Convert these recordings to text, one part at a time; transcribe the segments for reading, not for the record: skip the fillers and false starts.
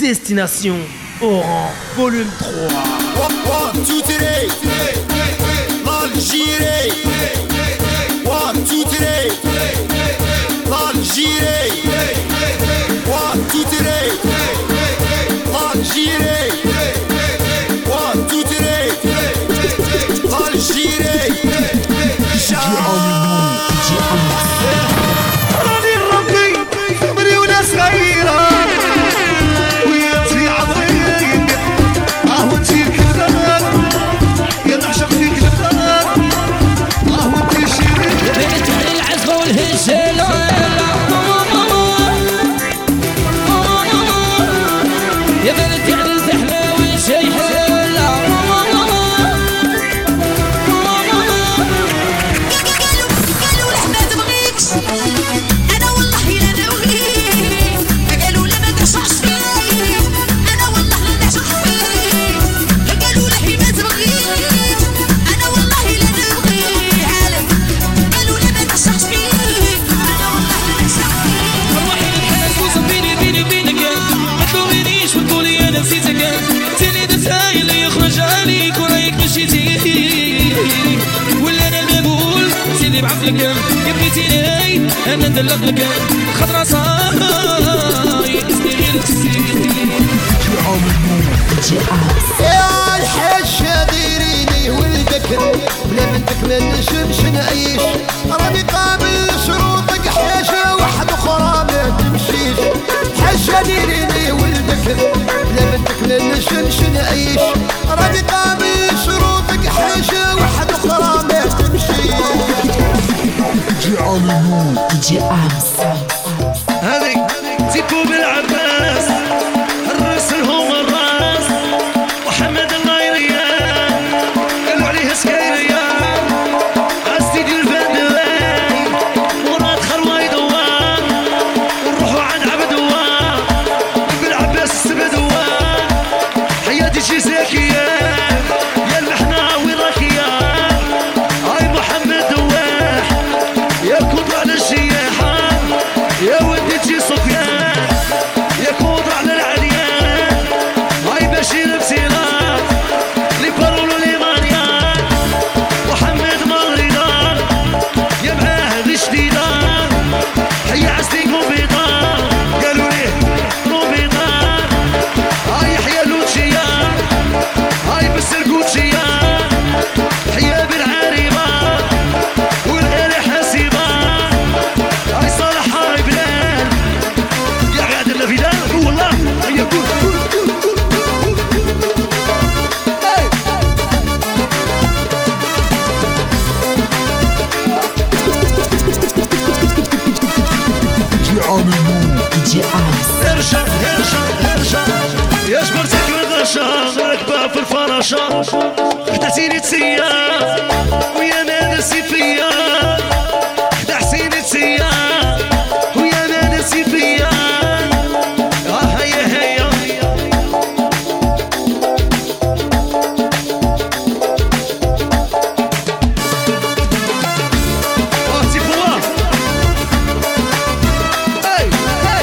Destination Oran, volume 3. One, two, three. L'Algérie. One, two, three. L'Algérie. One, two, three. L'Algérie. One, two, three. L'Algérie. راني ربي عمري ولا صغيرة وياتي عظيم راهو انتي الكذاب يا نعشق فيك الكذاب راهو انتي شيرين بنت علي العزبة والهجالة يا بنت علي الزحمة والشيحة انا والله لا نويك قالوا لا ما تشعش فيك انا والله لا نعشق فيك قالوا لا هي ما تبغيك انا والله لا نبغيك عالم قالوا لا ما تشعش فيك انا والله لا نعشق فيك روحي للحنان وصبيني بيني وبينك ما تلومينيش وتقولي انا نسيتك تاني درتها اللي يخرج عليك ورايك مشيتي ولا انا المقبول سيدي بعقلك يا بغيتيني انا ندلق لك خضرا صاي اسمي غير تسيدي يا الحشة ديريني والذكر بلا منك ما نجمش نعيش راني قابل شروطك حاجة واحدة أخرى ما تمشيش حشة ديريني والذكر بلا منك ما نجمش نعيش راني قابل شروطك حاجة واحدة أخرى ما تمشيش هذي تيكو بالعباس الرأس لهم الراس محمد الله يريان قالوا عليه سكيريان عالسيدي الفندواي مراد خروي دوار ونروحوا عند عبد دوار بالعباس السبدوار حياتي شي ساكيان يا المحنة وين راكيان هاي محمد دواح يا كوب على الشياحة يا ودي تجي صفيان يا كوض على العليان هاي بشير بسيرات لي بارولو لي مانيان محمد مريدان يا معاهد شديدان حيا عزتيك وبيضان قالوا ليه روبيضان هاي حيا لوتشيان هاي بسرقوتشيان حيا بالعريبان والغير حاسبان هاي صالح هاي بلال يا غادر لفيدان والله هيا قول ارشا يا جبرتك والغشا راكبة في الفراشة خدعتيني تسيا ويا ما نسي فيا خدعتيني تسيا ويا ما نسي فيا هيا هيا تيبوا هاي هاي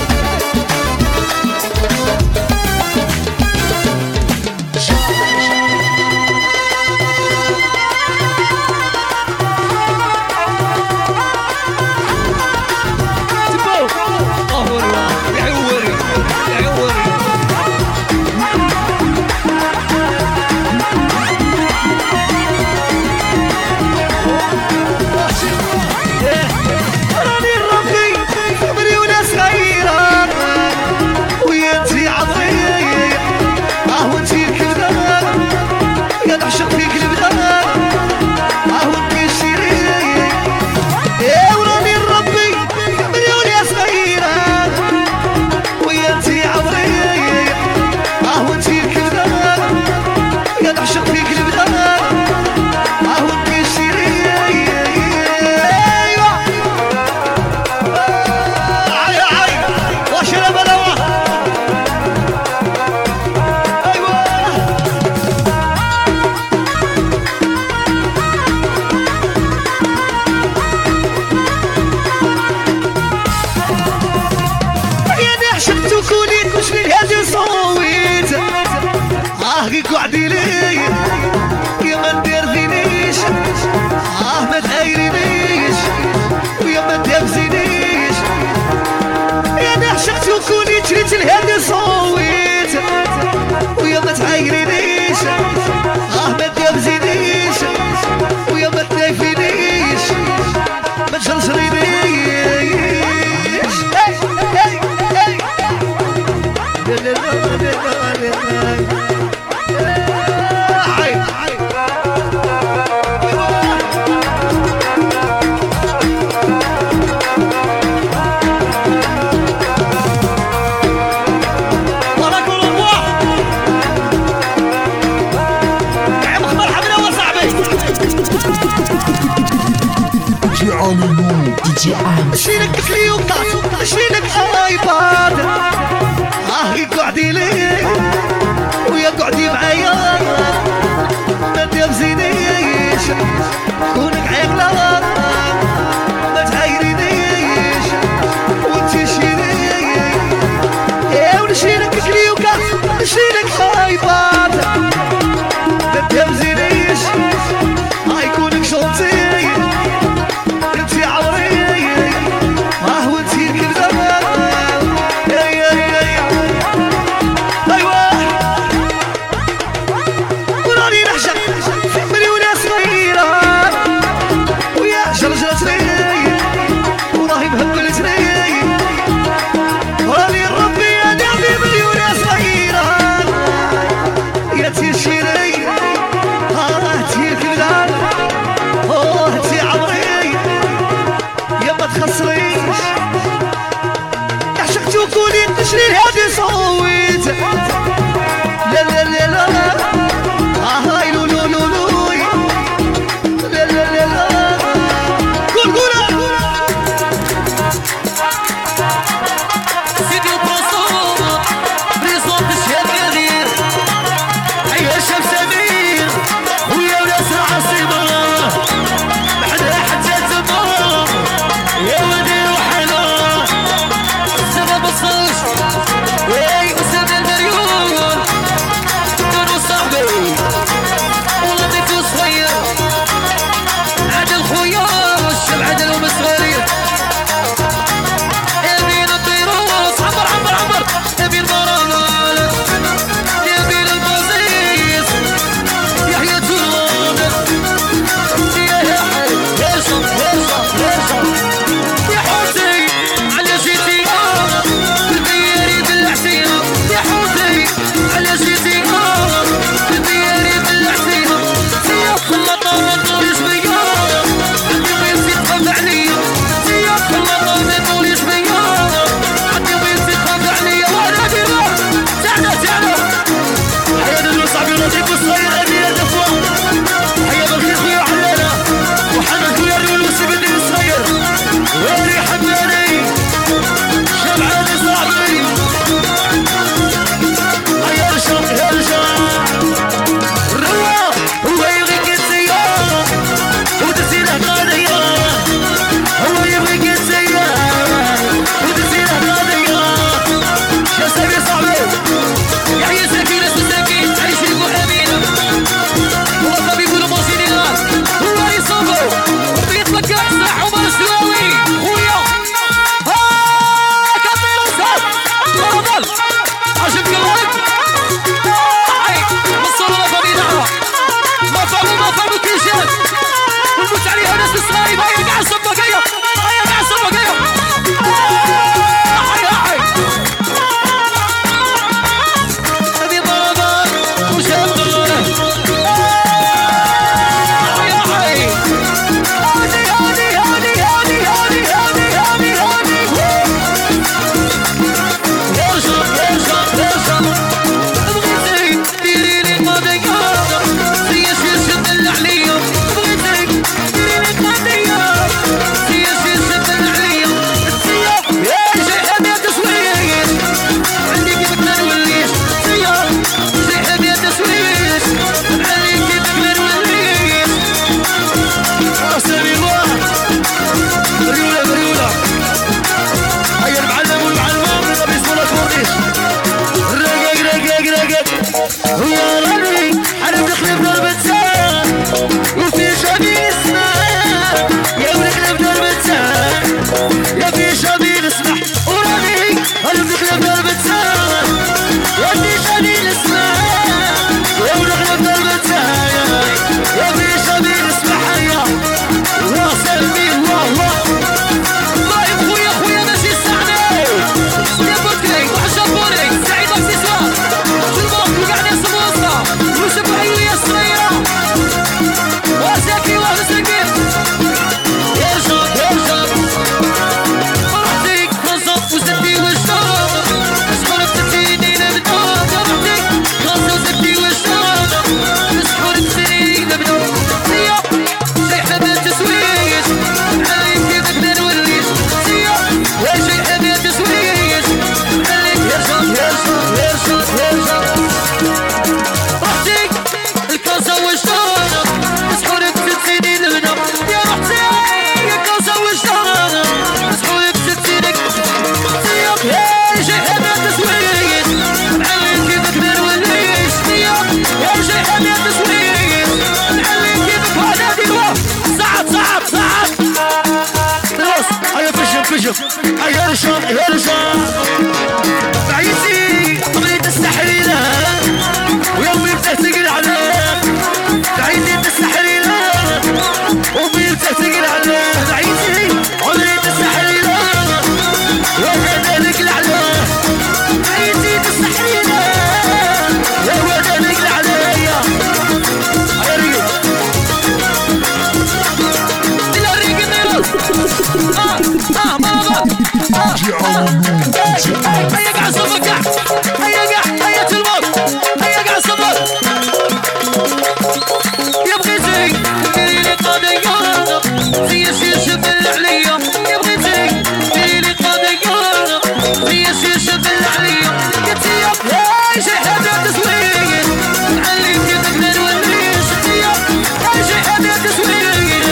شيلك كليوكات شيلك ايباد يقعدي لي ويا قعدي معايا ما تبزينيش كونك عيقلة ما تعايرينيش وانتي شيلي يا ونشيلك كليوكات نشيلك ايباد ما تبزينيش هيكونك شونتي تشري هادي صويت لا لا لا لا هاي لو لو لو لو لا لا لا لا قول سيدي وبرسول بريزون تشهد كثير هيا شاف سمير ويا وناس العاصمة بعدها حتى تمام يا ودي وحنا السبب الصوش وي أسامة المليون كانوا صاحبي والله ضيفو صغير عادل خويا الشب عادل ومسغرير يبين الطيروس عمر عمر عمر يبين مرانال يبين البازيس يحيى تولون يا حي يرشم يرشم يرشم يا حوتي على جيتي البياري بالعسيرة يا حوتي على جيتي البياري بالعسيرة سياق اللطامة طول شوية عندي وين تخاف عليا سياق اللطامة طول شوية عندي وين تخاف عليا وانا ديما تعالى تعالى حيا دلو صاحبي لطيف الصغير أمير دفوة حيا بالخير خويا علالة وحمد خويا الولوسي بدي الصغير ويلي حماني شبعاني صاحبي هيا رشم هرجم الروا هو يبغيك السيارة ودسيله قاضية هو يبغيك السيارة ودسيله قاضية يا سامي صاحبي يحيى سكينة سكين عيش يقول أمينة هو الطبيب والموسيقار هو يصبر وبيتفكر صح عمر السواوي خويا كبير وسام تفضل عجب قلبك مصورة فمي دعوة ما فهموا كيشات ونموت عليها ناس الصغيرة هيا قاع السباقية هيا قاع السباقية حي هذه ضربات وشام غرة حي يرشم بغيتك ديري لي قضية سيا شد العليا بغيتك ديري لي قضية سيا شد العليا سيا يا شيخ يا تسويش عندي كيفك ما نوليش سيا شيخ يا تسويش عندي كيفك ما نوليش أسامي الله بريولة هيا المعلم والمعلمة من غبي صولة كورنيش رقق ويا ربي حرب نخلف ضربة ساعة وفي شبي اسمع يا ونخلف ضربة ساعة يا في شبي نسمح وربي حرب نخلف ضربة ساعة يا في شبي نسمع يا ونخلف ضربة ساعة يا في شبي نسمح يا واسمي الله خويا ماشي السعني يا بكري وحشبوني سعيد اكسسوار شوف يرجع يرجع بعيتي بغيت تستحرينا ويومي بتهتقل عليه بعيتي تستحرينا ويومي بتهتقل عليه بعيتي عمري تستحرينا وكذلك العلاه بعيتي تستحرينا وكذلك العلاه يا ريق يا ريق هيا قاع صفك هيا قاع هيا تلمط هيا قاع صفك يا بغيتي ديري لي قضية زي الشيشة بالعليا يا بغيتي ديري لي قضية زي الشيشة بالعليا قلتي يا هاي شي حاجة تسويق عليك تقدر ونريش يا هاي شي حاجة تسويق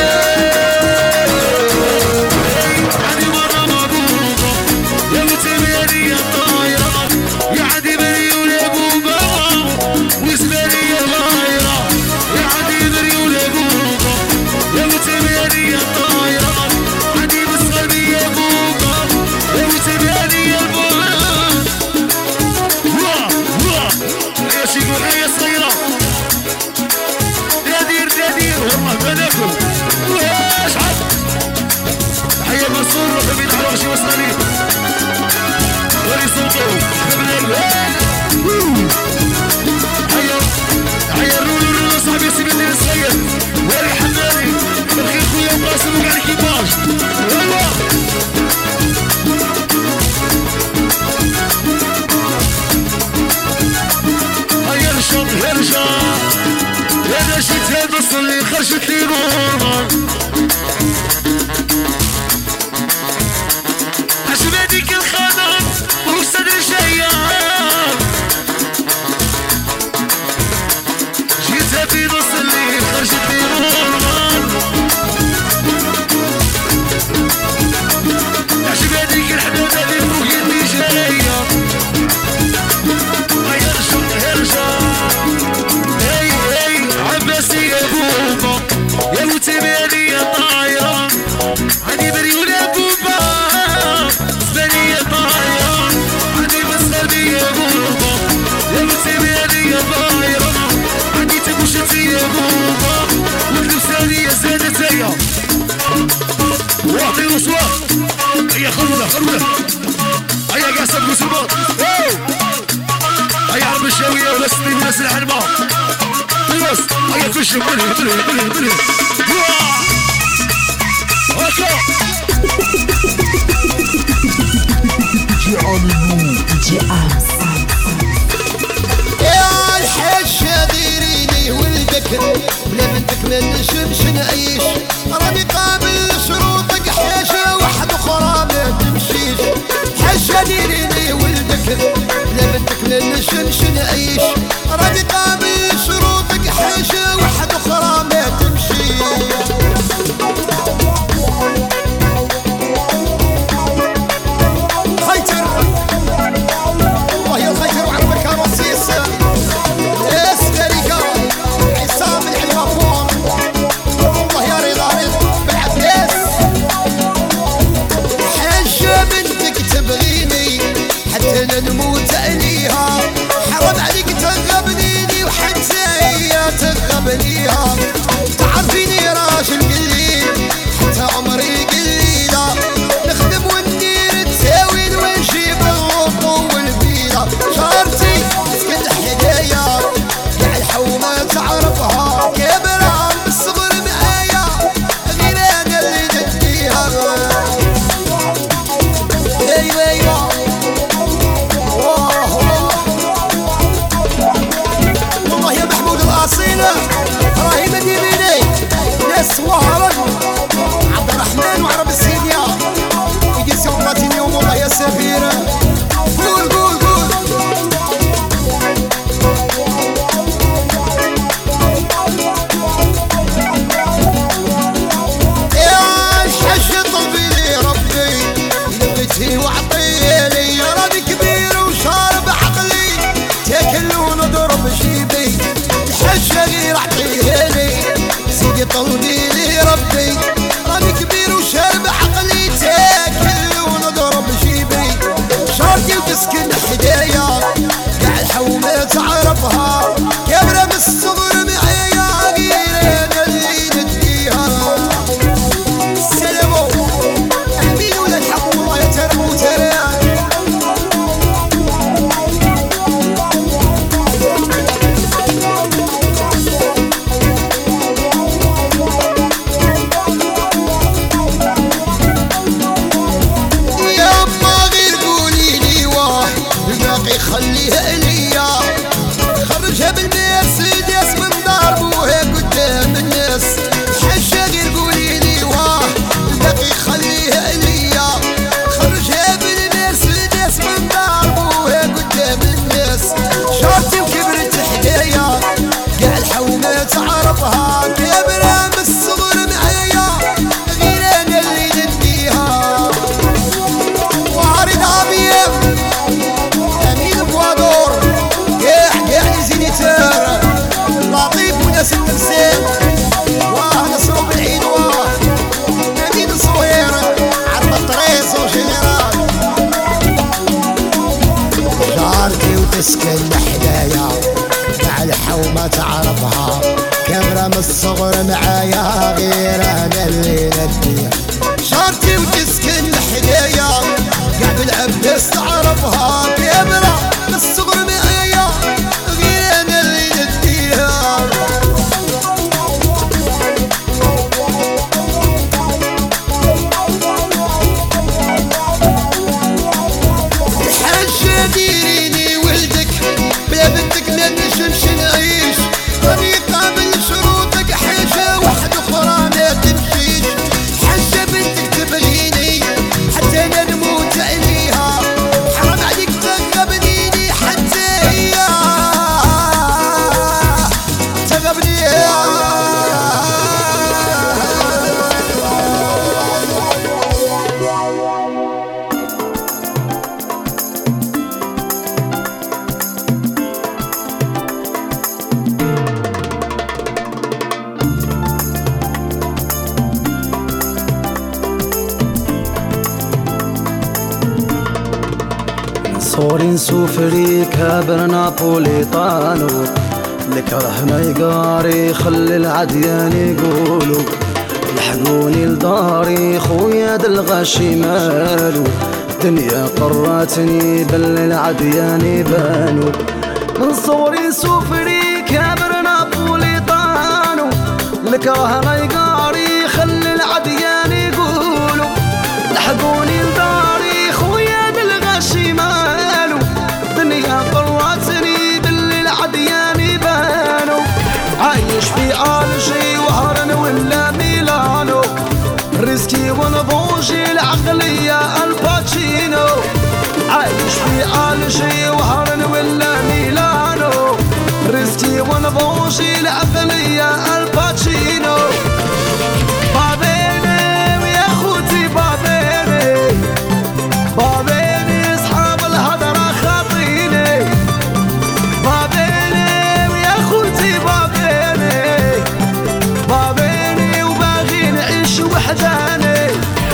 اللي خرجت لي نور عجبتك الخضر وصدر شيان جيتها في نص الليل خرجت لي نور عجبتك الحدود اللي فوق يدي جايه يرجع عباسي يا بوبا يا وتباني يا طايرة عندي بريول يا بوبا زباني يا طايرة عندي بسخاني يا بوبا يا وتباني يا طايرة عندي تبوشتي يا بوبا واللبساني يا سادتي واعطي رسوة هيا خلونا هيا قاع سبقوا سباط هيا عرب الشاوية ولسني وناس العلمة بس هيا فش بلي هكا يا الحشة ديريني والبكر بلا بنتك ما نشمش نعيش راني قابل شروطك حاجة واحدة أخرى ما تمشيش حشة ديريني والبكر بلا بنتك ما نشمش نعيش راني قابل شروطك حاجة واحدة أخرى ما تمشيش خيتر والله يا الخيتر وعرفك رصيص اسكريكا عصام الحلوافون والله يا رضا بالعباس حاجة بنتك تبغيني حتى لا نموت عليها حرام عليك تغبنيني وحتى هي تغبنيها تعرفيني راجل قليل حتى عمري قليلة نخدم وندير تساوين ونجيب الغطو والفيلة جارتي تسكن حدايا كاع الحومة تعرفها كبرها بالصبر معايا غير انا اللي نديها ايوا والله يا محمود الأصيلة راهي مدينيني ناس وهران عبد الرحمن وعرب السيديا يجي سوقاتيني والله يا سفيرة قول يا الحاج طلبي لي ربي لبتي وعطيلي راني كبير وشارب عقلي تاكل ونضرب جيبي الحاجة غير عطيها لي سيدي طلبي لي ربي راني كبير وشارب عقلي تاكل تعرفها كبرة من الصغر معايا غير انا اللي نديها وعارض عبيب امين بوادور كاع زينيتار لطيف وناس التمثيل واه نصرو بالعيد واه امين صوير عرض الطريس وجنرال جارتي وتسكن حدايا مع الحومة تعرفها كاميرا من الصغر معايا غير انا اللي نديها جارتي وتسكن حدايا قاع بالعباس تعرفها كاميرا من الصغر معايا غير انا اللي نديها الحاجة ديريني ولدك بلا بنتك ما نجمش نعيش راني قابل شروطك حاجة واحدة أخرى ما تمشيش حاجة بنتك تبغيني حتى أنا نموت عليها حرام عليك تغبنيني حتى هي تغبنيها صورين سوفري كابر نابوليطانو الكره ما يقاري خلي العديان يقولوا لحقوني لداري خويا دالغاشي مالو دنيا قراتني بل العديان يبانو من صوري سوفري كابر نابوليطانو الكره ما يقاري خلي العديان يقولوا لحقوني لداري خويا دالغاشي مالو دنيا قراتني بالعديان يبانو عايش في الجي وهرن ولا ميلانو ريسكي ونبوجي العقلية الباتشينو عايش في الجي وهرن ولا ميلانو ريسكي ونبوجي العقلية الباتشينو بابيني ويا خوتي بابيني بابيني اصحاب الهضرة خاطيني بابيني ويا خوتي بابيني بابيني وباغي نعيش وحداني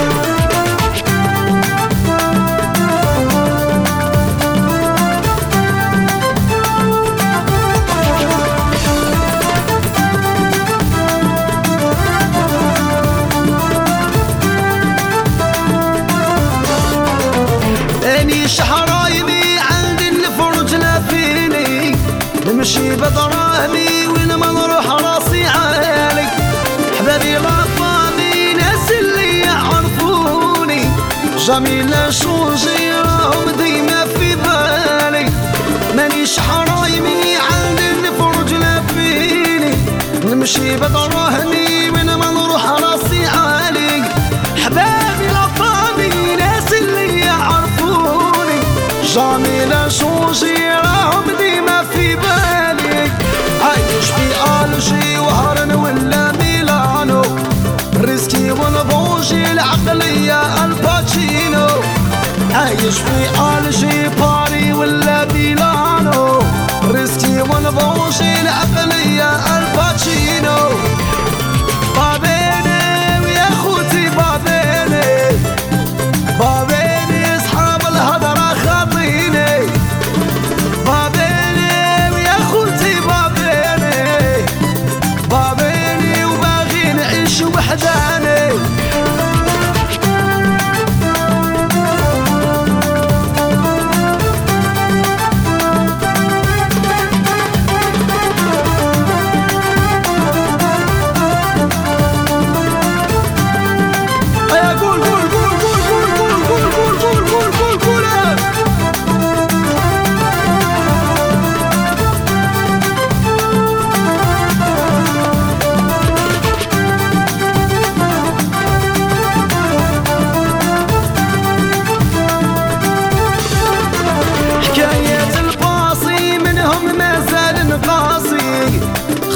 اني شحرايمي عندي الفرج لافيني نمشي بدراهمي وين ما نروح راسي عالي حبابي لطامي ناس اللي يعرفوني جميلة شوجي راهم ديما في بالي مانيش حرايمي عندي الفرج لافيني نمشي بدراهمي وين ما نروح راسي عالي حبابي لطامي ناس اللي يعرفوني جميلة شوجي راهم ديما في بالي عايش في الجي وهرن ولا ميلانو ريسكي ونبوجي العقلية الباتشينو عايش في الجي باري ولا ميلانو ريسكي ونبوجي العقلية الباتشينو بابيني ويا خوتي بابيني بابيني اصحاب الهضرة خاطيني بابيني ويا خوتي بابيني بابيني وباغي نعيش وحداني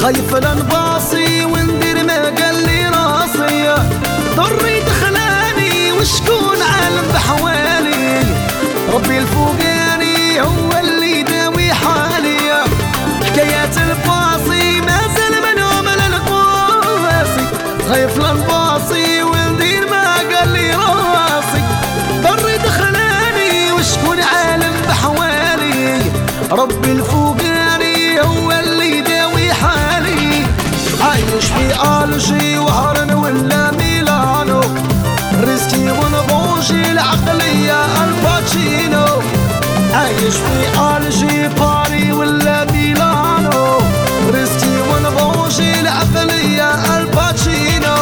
خايف لنباصي وندير ما قال لي راسي ضري دخلاني وشكون عالم بحوالي ربي الفوقاني هو اللي يداوي حالي حكايات الباصي ما زال منهم للقاسي خايف لنباصي وندير ما قال لي راسي ضري دخلاني وشكون عالم بحوالي ربي الفوقاني هو اللي يداوي حالي عايش في ألجي وهرن ولا ميلانو ريسكي ونبوجي العقلية الباتشينو عايش في ألجي باري ولا ميلانو ريسكي ونبوجي العقلية الباتشينو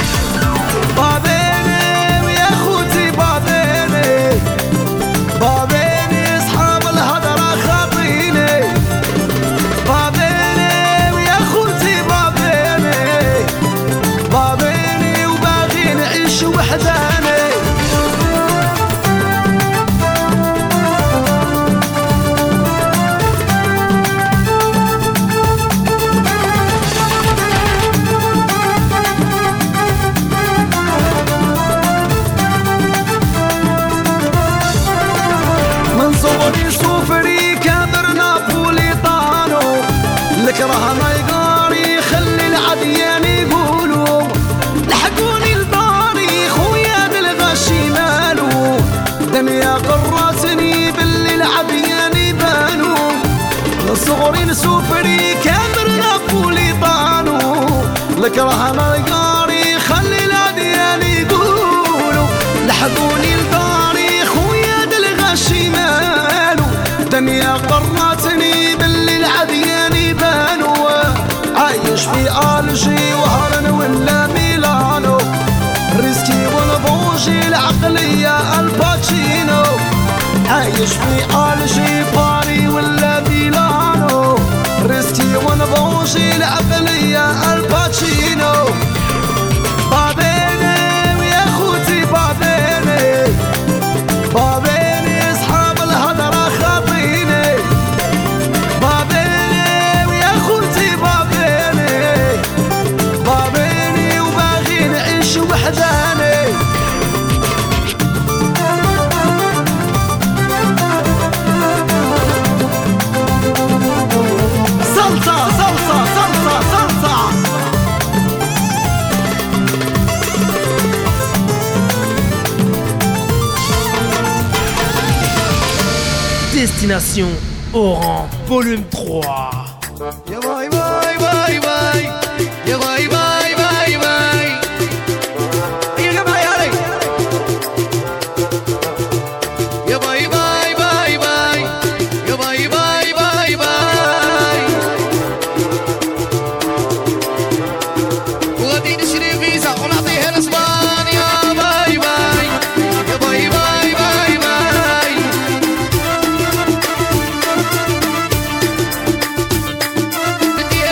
بابيني ويا خوتي بابيني بابيني اصحاب الهضرة خاطيني بابيني ويا خوتي بابيني بابيني وباغي نعيش وحداني صوري سوفري كابر نابوليطانو الكره ما يقاري خلي العديان يقولوا لحقوني لداري خويا بالغشي مالو دنيا قراتني باللي العديان يبانوا صغري سوفري كابر نابوليطانو الكره ما يقاري خلي العديان يقولوا لحقوني لداري خويا بالغشي مالو دنيا قراتني باللي العديان يبانوا عايش في ألجي وهرن ولا ميلانو ريسكي ونبوجي العقلية الباتشينو عايش في ألجي باري ولا ميلانو ريسكي ونبوجي العقلية الباتشينو بابيني ويا خوتي بابيني بابيني اصحاب الهضرة خاطيني بابيني ويا خوتي بابيني بابيني وباغي نعيش وحداني صلصة صلصة صلصة صلصة Destination Oran, volume 3. يا باي باي باي باي يا باي باي باي باي يا جماعة علي يا باي باي باي باي يا باي باي باي باي وغادي نشري فيزا ونعطيها لاسبانيا باي باي يا باي باي باي باي بدي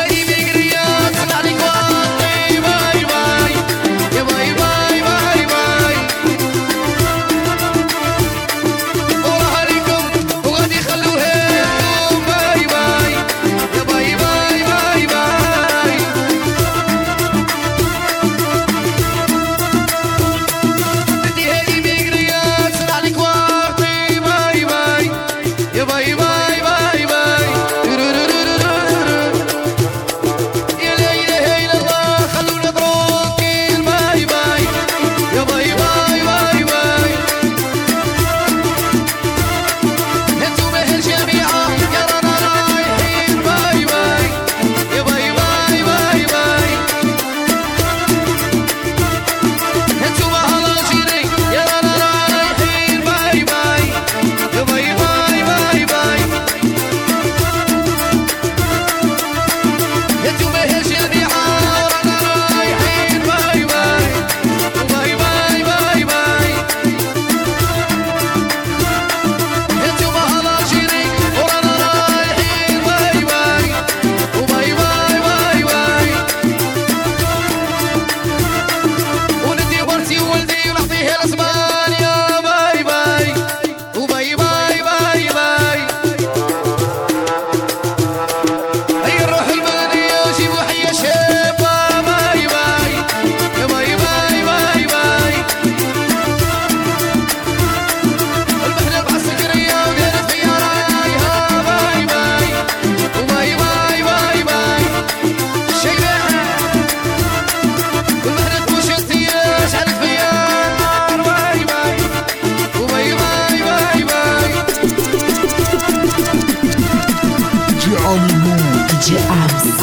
DJ Arms.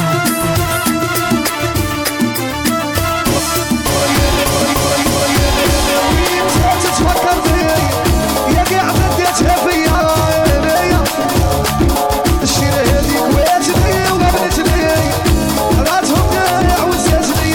تتفكر فيا يا قاع بديتها فيا الشيرة هذيك واتني وقابلتني راتهم قاع وزاتني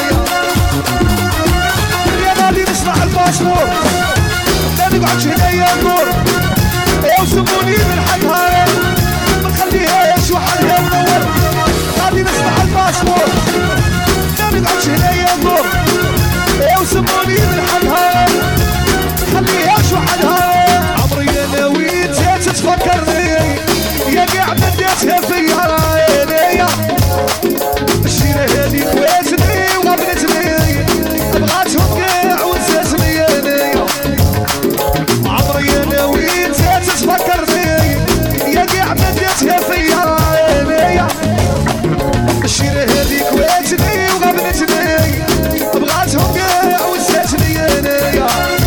يا غادي نصنع الباسبور ما نقعدش هنايا النور يا وسموني من حقها ما نخليهاش وحدها منور غادي نصنع الباسبور ما نقعدش هنايا النور يا وسموني من حقها خليهاش وحدها عمري انا ويتها تتفكرني يا قاع بديتها فيا عينيا الشيرة هذيك واتني وقابلتني بغاتهم قاع وزاتني انايا عمري انا ويتها تتفكرني يا قاع بديتها فيا عينيا الشيرة هذيك واتني وقابلتني بغاتهم قاع وزاتني انايا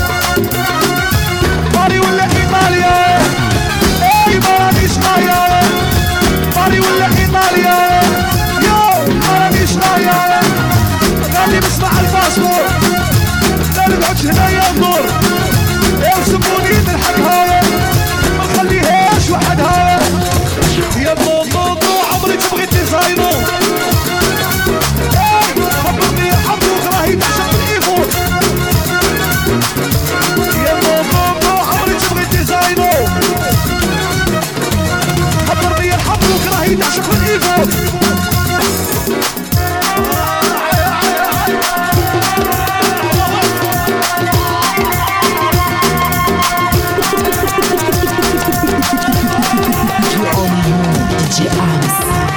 ماري ولا ايطاليا اي مارانيش غايا ماري ولا ايطاليا يو مارانيش غايا غادي نصنع الباسبور ما نقعدش هنايا الدور يا وسموني من حقها ما نخليهاش وحدها يا بابا عمري تبغي ديزاينو خبرني يرحمك راهي تعشق الايفون يا بابا عمري تبغي ديزاينو خبرني يرحمك راهي تعشق الايفون DJ Arms.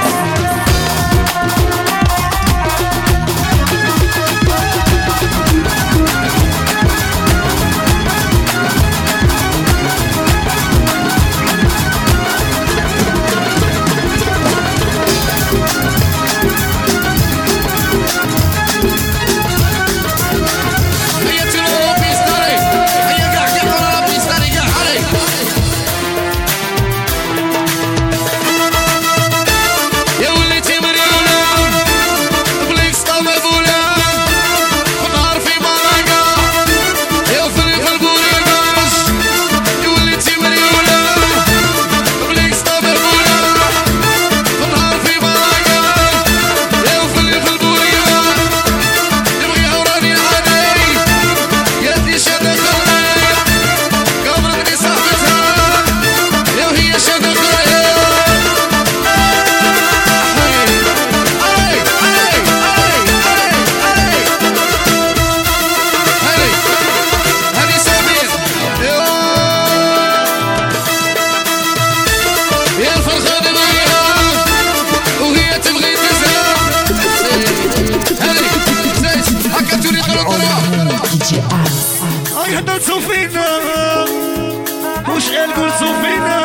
هاي هدرتو فينا وش قلتو فينا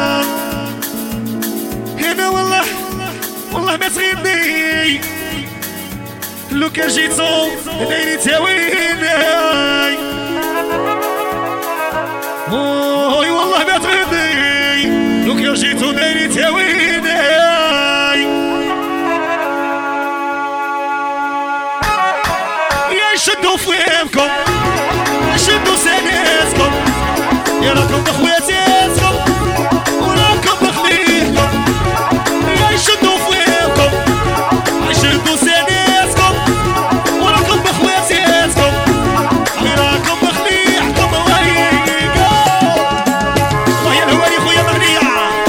هنا والله ما تغيبني لو كان جيتو دايري تاويني اوي والله ما تغيبني لو كان جيتو دايري تاويني يا شدو فيكم شدوا سناسكم يا راكم بخواتاتكم وراكم بخليكم يا شدوا فيكم شدوا سناسكم وراكم بخواتاتكم يا راكم بخليكم وهيكم ويا الهواري خويا مغنية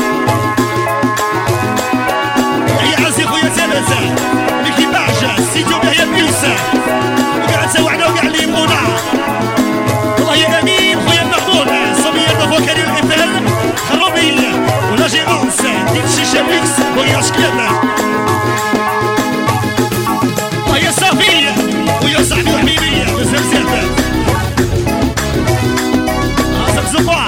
يا عزي خويا تلاتة ميكي بعجة سيدو بهيا بيوسف وقاعد سوعنا وقاعد ليمونا يا امين خويا محمود صبيه فوكالي القتال خرابي ولا جي اونس ديت شيشه ميكس ويا شكلنا ويا صافيه ويا صاحبي وحبيبي بزاف زاد راسك زفاف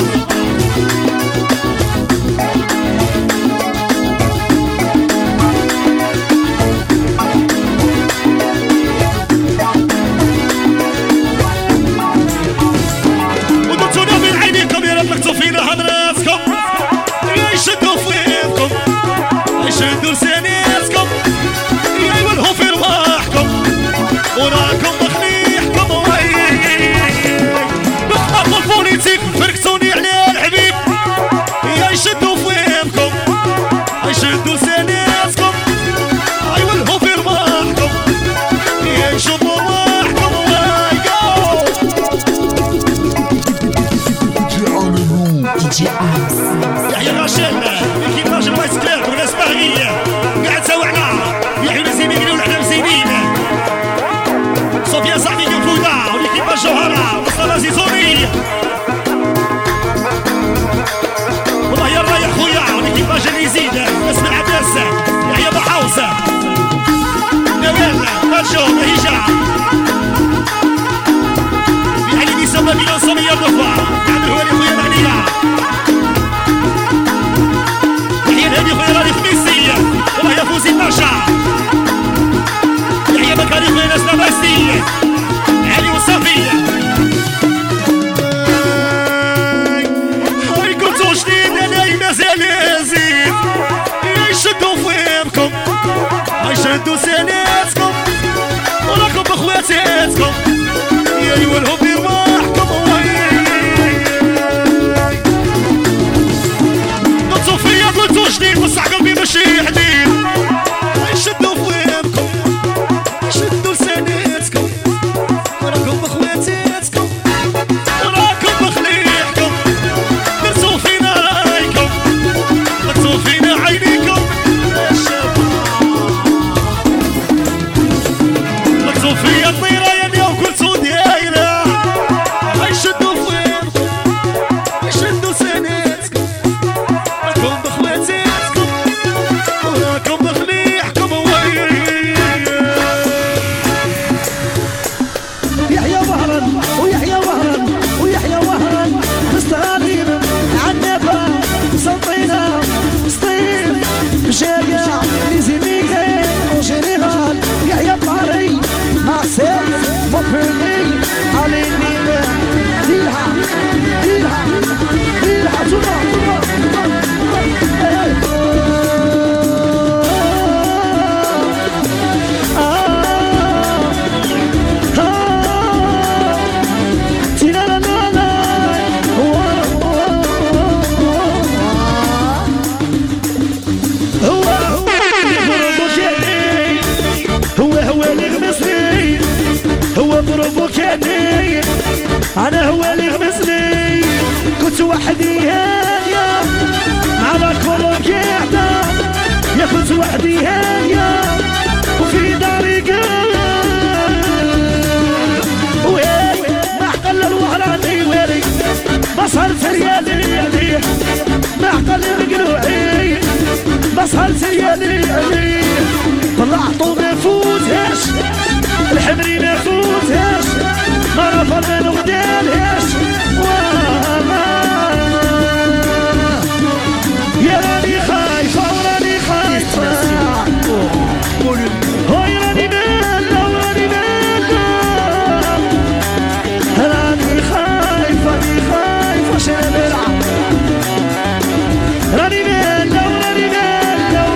شدوا لسانيتكم يا ولهو في رواحكم وراكم بخليحكم بخطفوا البوليتيك فركتوني على الحبيب يا يشدوا فيمكم يشدوا لسانيتكم يا ولهو في رواحكم يا يشوفوا رواحكم يحيى راشد كيف راجل الله يسكلك وناس باغية قاعد سوعنا يحيى نسيم يقولوا احنا مسيبين صوفيا صاحبي كنفودا وليكيبا الجوهرة مصطفى زيزوني والله يلا يا خويا وليكيبا جاني يزيد اسم العباس يحيى بحوصة نوال مالجو هيجا يعني بيسمى بينا صومية الرفا عامل هو اللي خويا معنية هادي خويا راني خميسية والله يا فوزي باشا يحيى بكاري خويا ناس لاباسية علي وصافية هاي كنتو جديد انا مازال يزيد يشدو فيمكم يشدو سناتكم وراكم بخواتاتكم يا يولهو برواحكم قلتو جديد بصح قلبي ماشي حديد يشدوا فيمكم يشدوا لسانيتكم وراكم بخواتاتكم وراكم بخليحكم درتو فينا رايكم درتو فينا عينيكم درتو فيا الطيرة يا اليوم قلتو دايرة يشدوا فيمكم يشدوا لسانيتكم أنا هو اللي غمسني كنت وحدي هانية على كل قاعدة يا كنت وحدي هانية وفي داري ويلي ما حقل الوهراني ويلي بصرت ريالي ما حقل القلوعي بصرت ريالي طلعتو ما فوتهاش الحمري ما فوتهاش ما رفضنا نغدالهاش يا راني خايفة وراني خايفة هاي راني مالة وراني مالة راني خايفة شنبلع راني مالة وراني مالة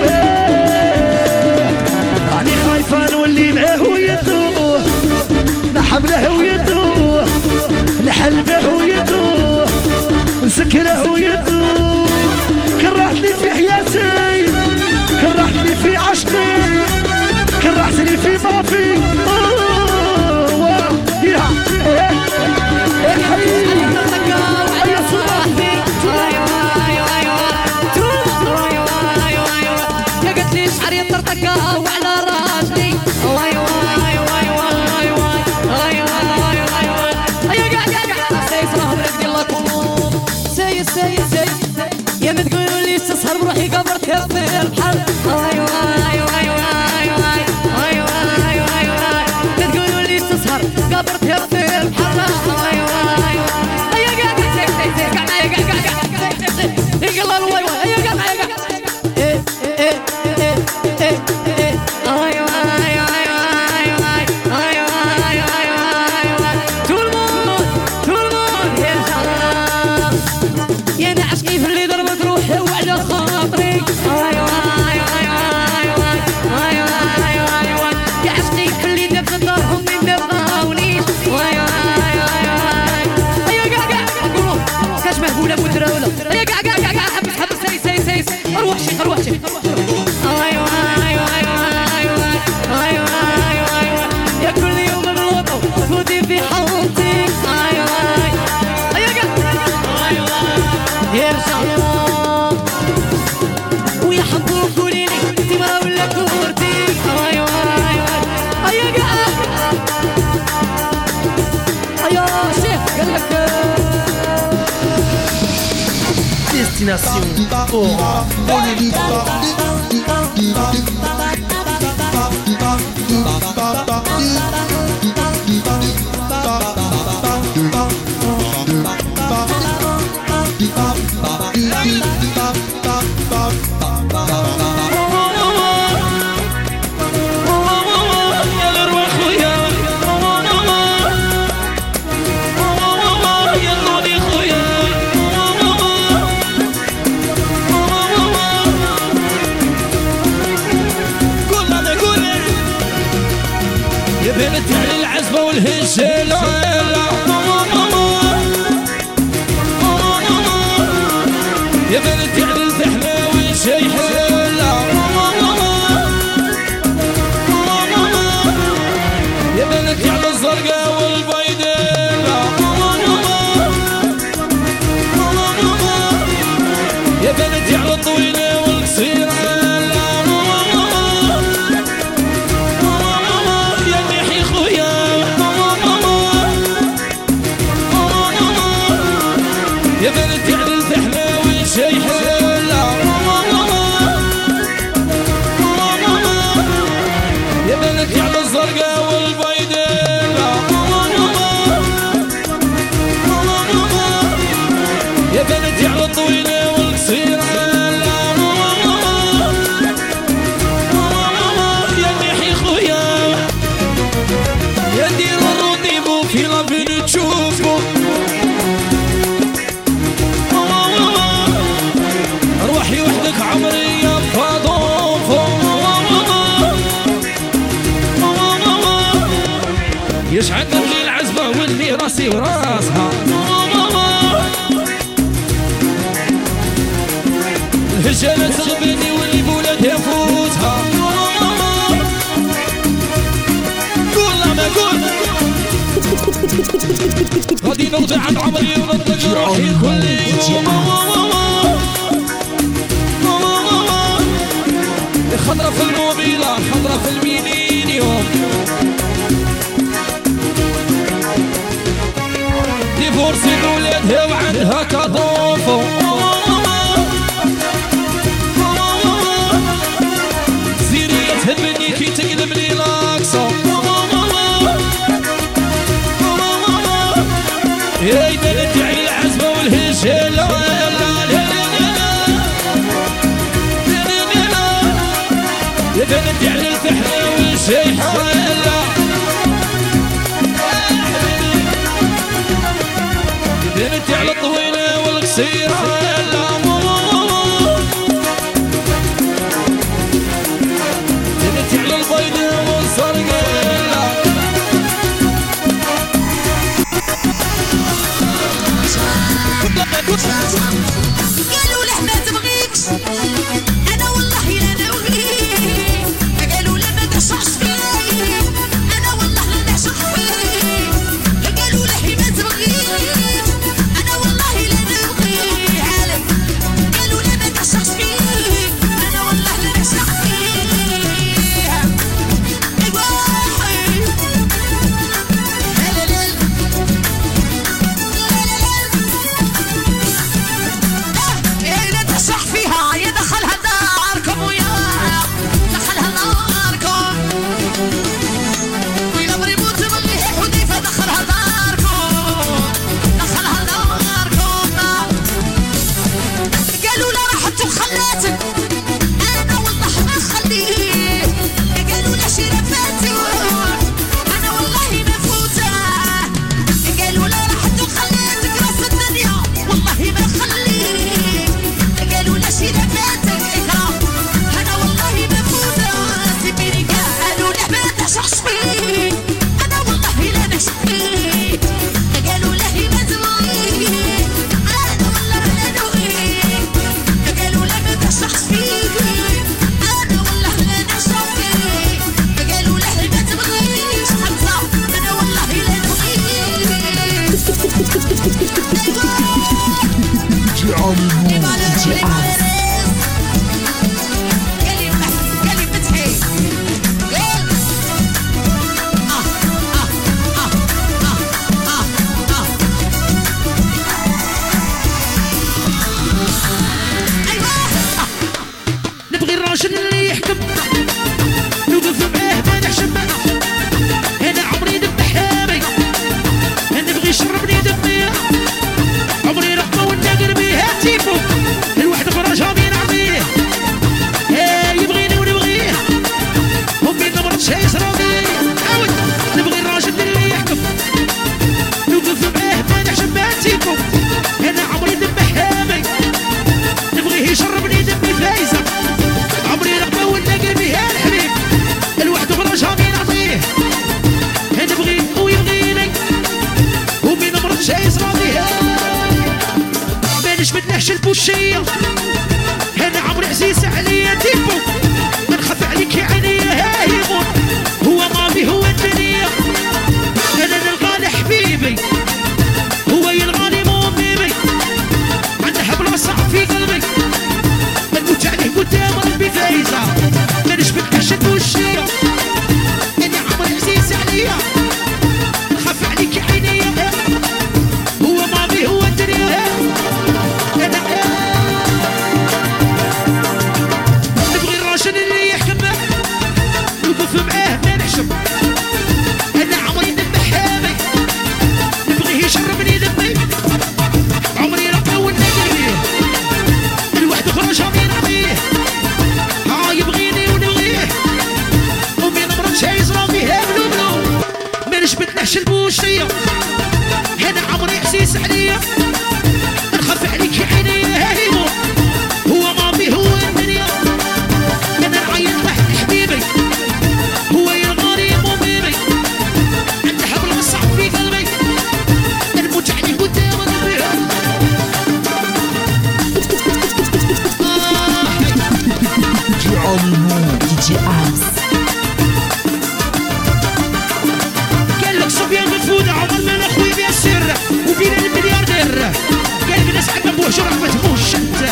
راني خايفة نولي معاه ويدوه نحمله ويدوه نحلبه ويدوه نسكره ويدوه كرهتني في حياتي كرهتني في عشقي كرهتني في طرفي يا حبيبي يا صباحي يا قلت لي شعري طرطقة وعلى راسي يا ما تقولوا لي تسهر بروحي قبرت في البحر ما تقولوا لي تسهر قبرت في البحر يا نعشقي في اللي ضربت روحي وعلى خاطري Destination Oran Volume 3. بنت على العزبة والهجلة يا بنت على الفحمة والشيحة يا بنت على الزرقاء والبيضاء يا بنت على الطويلة والقصيرة يا بنت على الفحمة والشيحة يا بنت على الزرقاء والبيضاء يا بنت على الطويلة والقصيرة يا محي خويا يا دير الرونديفو في لافين تشوفو روحي وحدك عمري يا فاضوفو يشعل لي العزبة واللي راسي وراسها الهجالة تغبني واللي بولد يفوتها قول ما قول غادي نرجع عن عمري ونطلق روحي كل يوم خضرة في الموبيلة خضرة في المينينيوم ديفورسي بولادها وعندها كاضوفو زيرية تهبني كي تقلب لي لاكسو يا بنتي على العزبة والهجالة يا بنتي على الفحمة والشيحة يا بنتي على الطويلة والقصيرة يا بنتي على البيضاء والزرقاء قالوا له ما تبغيكش انا والله لا نبغيك قالوا له ما تشعش فيه انا والله لا نعشق فيه قالوا له ما تبغيك انا والله لا نبغيك يحكمنا نوقف معاه ما نحشم معاه انا عمري ذبح حامي نبغي يشربني دمي عمري رقبه والنقر بيه هاتيفو الواحد اخرى جامي نعطيه يبغيني ونبغيه امي نمرض شي يسروني عاود نبغي الراجل اللي يحكم نوقف معاه ما نحشم هاتيفو انا عمري ذبح حامي نبغيه يشربني دمي فايزه عمري رقبه والنقر بيه الحبيب الواحد اخرى جامي نعطيه نبغي ويبغيني امي نمرض شي يسروني مانيش متنهش البوشيه انا عمري عزيز عليا ديفو ما نخاف عليك يا عينيا هايمون هو ماضي هو الدنيا انا نلقى حبيبي هو يلغاني مو بيبي عندها بلاصه في قلبي نموت عليه قدام ربي فايزه مانيش متنهش البوشيه انا عمري عزيز عليا نخاف عليك يا عينيا هو ماضي هو الدنيا نبغي الراجل اللي يحكم نوقف معاه ما نحشم انا عمري ذبح حامي نبغيه يشربني دمي عمري رقبه والنقر الواحد اخرى جامي نعطيه يبغيني ونبغيه امي نمرض شي يصرا فيها بلو مانيش متنحش البوشيه انا عمري عزيز عليا نخاف عليك يا عينيا هايمو هو ماضي هو الدنيا انا نعيط واحد حبيبي هو يلغاني مو بيبي عندها بلاصه في قلبي نموت عليه قدام ربي DJ Abs. قال لك صبيان مفودة عمر من اخوي بيسر وبين الملياردير قال لك ناس عندنا بوه شرح ما تبوش انت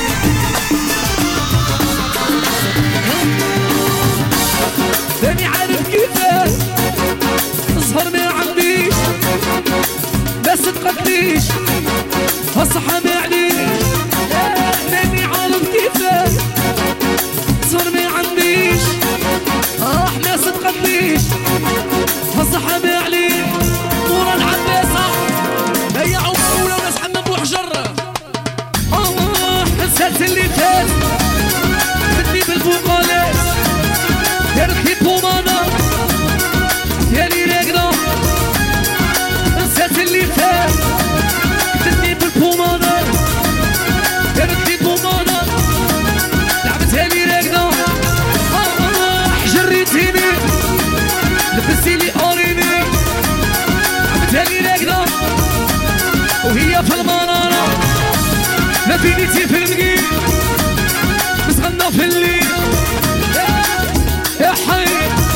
ماني عارف كيفاش نسهر ما عنديش ما صدقتنيش هالصحة ما عليش ماني عارف كيفاش نسهر ما عنديش ما صدقتنيش هالصحة ما عليش مورا العباسة هيا عمولة وناس حمام بوحجر حسات اللي فات بدني بالفوقالات يركي بومانا يالي راقدة نسات اللي فات بدني بالبومانا يركي بومانا لعبتها لي راقدة حجريتيني لبستي لي اوريني لعبتها لي راقدة وهي في المنارة ما بينيتي في المقيم مسغنة في الليل يا حي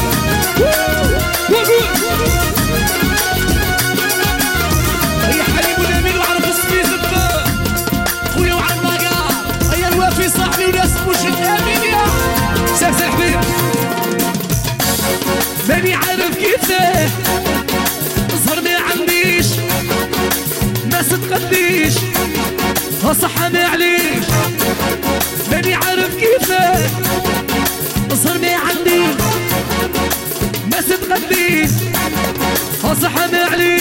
يا حليم ونميل وعرف السميز الدار خويا وعن مقار هيا الوافي صاحبي ناس مش الامين يا سلسل حبيب ماني عارف كيفاه نصهر ما عنديش ما صدقتنيش هالصحة ما عليش ماني عارف كيفاه نصهر ما عنديش ما صدقتنيش هالصحة ما عليش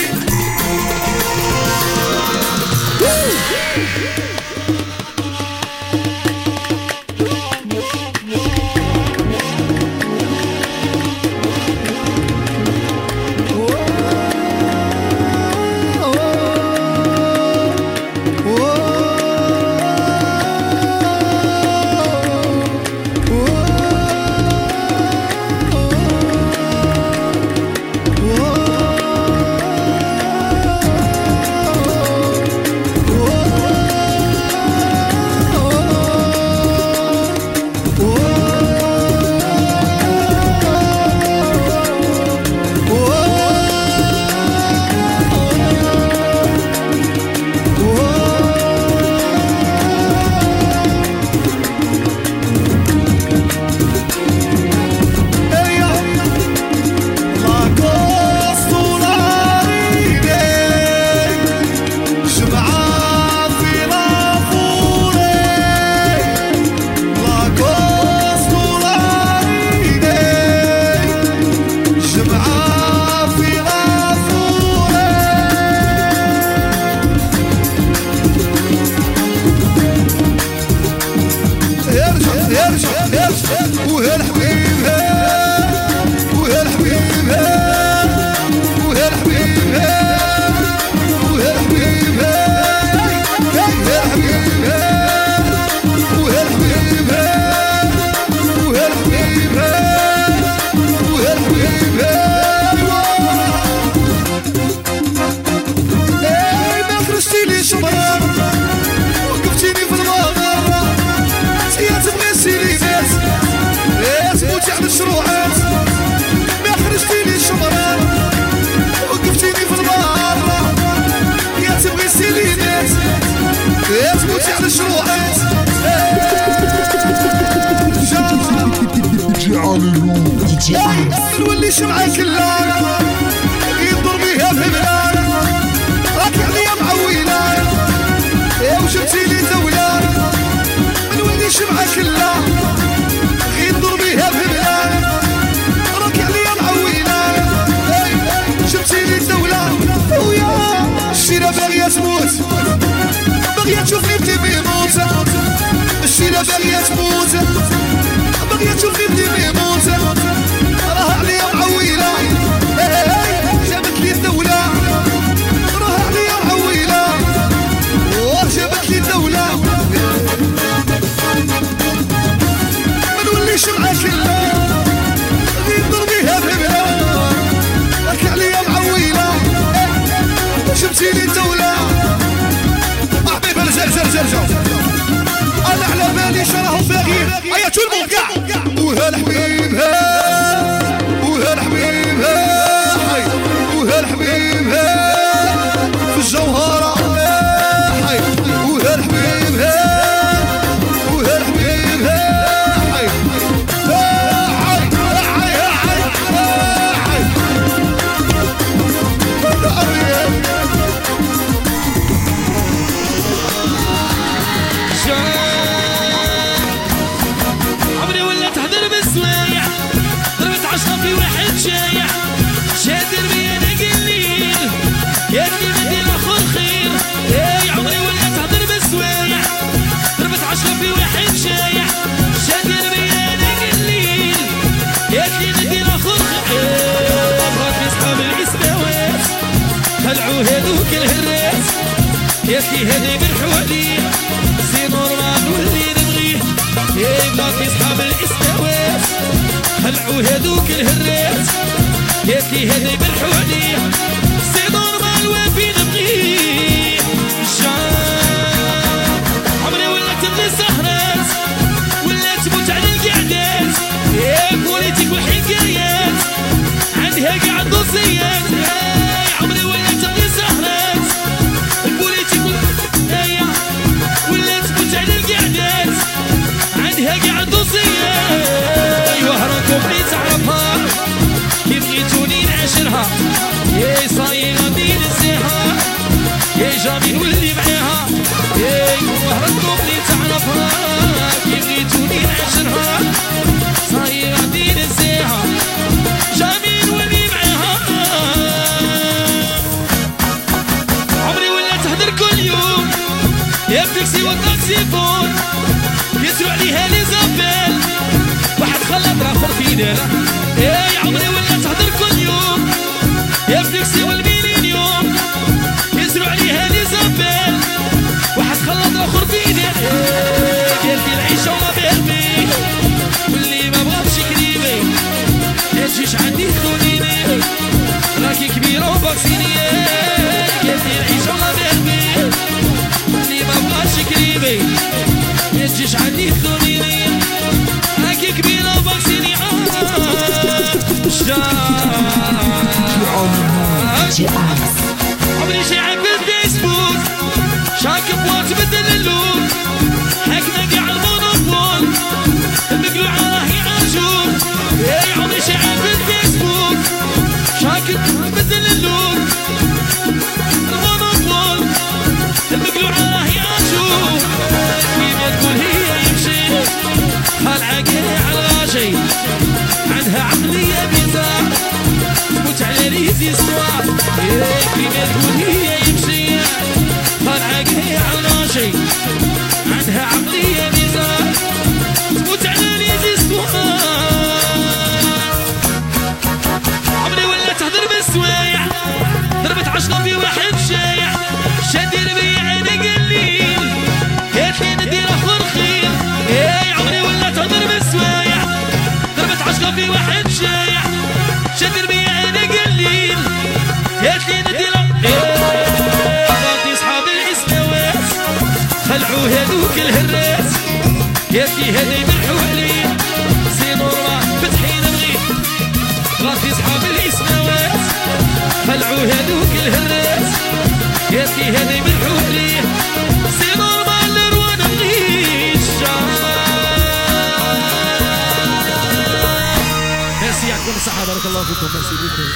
نولي شمعة كلها يضرب بيها في بلاد راك عليا معويلة وشفتي لي دولة نولي شمعة كلها يضرب بيها في بلاد راك عليا معويلة شفتي لي دولة ويا الشيرة باغية تموت باغية تشوفني بدي بيموت الشيرة باغية تموت باغية تشوفني بدي بيموت راه عليا معويلة جابت لي الدولة راه عليا معويلة جابت لي الدولة ما نوليش معاك كلها غير ضربيها في بلاد راك عليا معويلة جبتي لي الدولة حبيبي رجع انا على بالي شراهم باغيين هيا تو الموند كاع وهالحبيب وهالحبيب حي وهالحبيب في الجوهرة حي وهالحبيب وهالحبيب حي عمري ولا تحضر بالسوايع ضربت عشرة في واحد شايع شادر بيا انا قليل يا اللي بدي الاخر خير اي عمري ولا تحضر بالسوايع ضربت عشرة في واحد شايع شادر بيا انا قليل يا اللي بدي الاخر خير بغاك اصحاب العسباوات خلعوا هذوك الهراس يا اللي هذي من حواليه سي نورمال واللي نبغيه يا بلاك اصحاب الاسكوات خلعوا هذوك الهراس يا اللي هذي من حواليه سي نورمال وفي نبغيه عمري ولا تبغي سهرات ولا تموت على القعدات يا بوليتيك والحكايات عندها قاع الدوسيات عمري ولا تبغي سهرات البوليتيك والحكاية ولا تموت على القعدات عندها قاع الدوسيات وهركم اللي تعرفها كي بغيتوني نعاشرها يا صايي غادي ننساها يا جميل واللي معاها يا وهركم اللي تعرفها كي بغيتوني نعاشرها صايي غادي ننساها جميل واللي معاها عمري ولا تهدر كل يوم يا بتكسي والتاكسيفون يسروا عليها لي زابيل واحد خلط راخر في داره يا عمري ولا تهدر كل يوم يا بتكسي والميلينيوم يسروا عليها لي زابيل واحد خلط راخر في داره ديالتي العيشه وما بيربي واللي ما بغاش قريبي ما تجيش عندي خذونيني راكي كبيره وباكسيني ديالتي العيشه وما بيربي واللي ما بغاش قريبي ما تجيش عندي خذونيني راكي كبيره وباكسيني عمري شاعب بالفيسبوك شاكب وتبدل اللون حكنا قاع المونوبول المقلوعة راهي عاشور يا عمري شاعب بالفيسبوك شاكب وتبدل اللون المونوبول المقلوعة راهي عاشور كيما تقول هي يمشي خالعة قاع الغاشي عندها عقلية بيزار تموت على ريزيستوار كيما تقول هي يمشي خالعة قاع الغاشي عندها عقلية بيزار تموت على ريزيستوار عمري ولا تهدر بالسوايع ضربت عشرة في واحد شايع شادر بيا انا قليل قالتلي ندير اخر خير يا عمري ولا تهدر بالسوايع ضربت عشرة في واحد شايع شادر بيا انا قليل قالتلي ندير غادي اصحاب الاسماوات خلعوا هذوك الهراس قالتلي هذي من حواليه سي نورمال فتحي نبغيه غادي اصحاب الاسماوات خلعوا هذوك الهراس قالتلي هذي من حواليه سي نورمال وانا نبغيه يعطيك الصحة بارك الله فيكم ميرسي بوكو.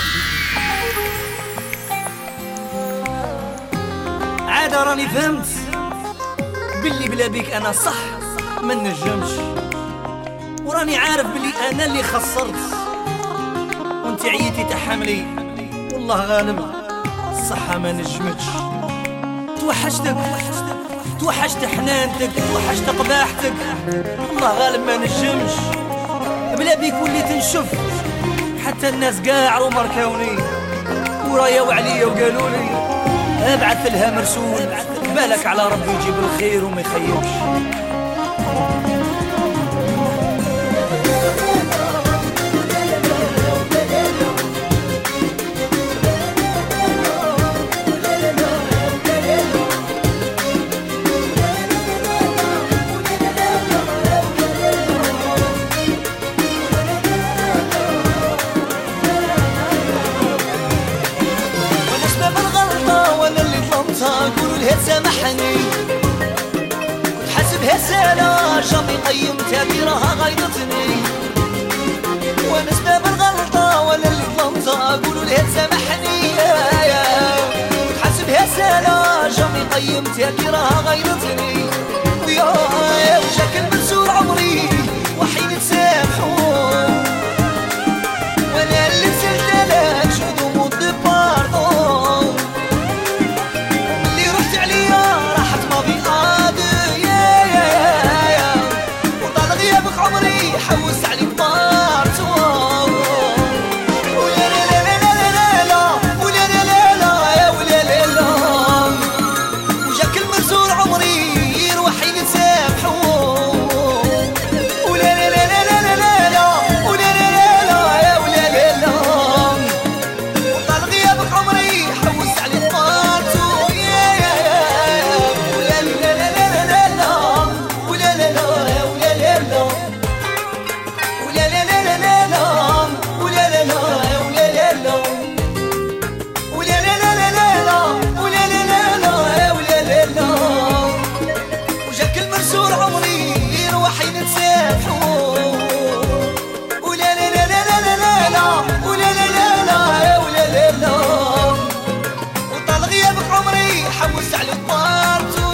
عاد راني فهمت باللي بلا بيك انا صح ما نجمش، وراني عارف باللي انا اللي خسرت وانت عيتي تحملي، والله غالب الصحة ما نجمتش. توحشت حنانتك، توحشت قباحتك، والله غالب ما نجمش. بلا بيك وليت نشوف حتى الناس قاع ومركوني ورايا عليا وقالولي ابعث لها مرسول، بالك على ربي يجيب الخير وما يخيبش. قولوا لها تسامحني، كنت حاسبها سهلة جامي قيمتها كي راها غيظتني، وانا سباب الغلطة ولا اللي ظلمتها. قولوا لها تسامحني كنت حاسبها سهلة جامي قيمتها كي راها غيظتني، ويا وجاك المنسور عمري وحين تسامحون، وانا اللي نسلت لك شو ضمود باردون، عمري حوس عليك بارتو، ولا لا لا لا لا لا ولا لا لا لا يا ولا لا لا، وجاك المرسول عمري يروح ينسامحو، ولا لا لا لا لا لا لا ولا لا لا لا يا ولا لا لا، وطال غيابك عمري حوس عليك بارتو، يا ولا لا لا لا لا لا ولا لا لا يا ولا لا لا. حوس على الطارتو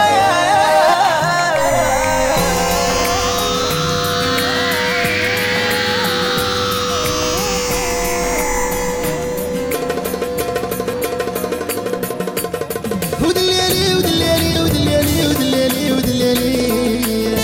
ودليلي ودليلي ودليلي ودليلي ودليلي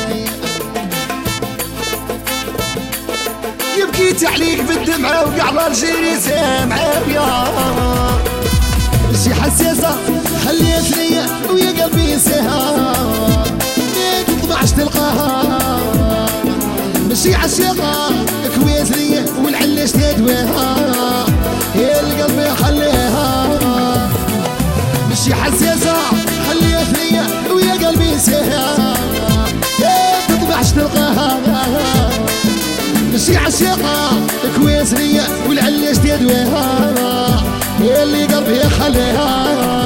يبكيت عليك بالدمعة وقع برجيني سامعة ويا شي حساسة خليتني ويا قلبي سهار، ما تطمعش تلقاها ماشي عشاقة كويتني والعلاش تدواها، يا القلب خليها ماشي حساسة خليتني ويا قلبي سهار، ما تطمعش تلقاها ماشي عشاقة كويتني والعلاش تدواها، يا اللي قلبي خليها.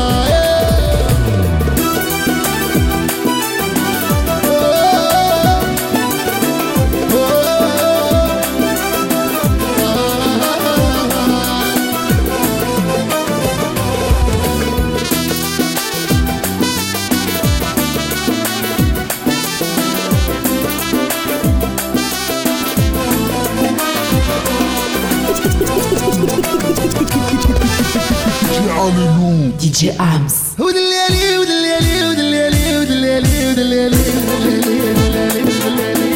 DJ Arms. ودليلي ودليلي ودليلي ودليلي ودليلي ودليلي ودليلي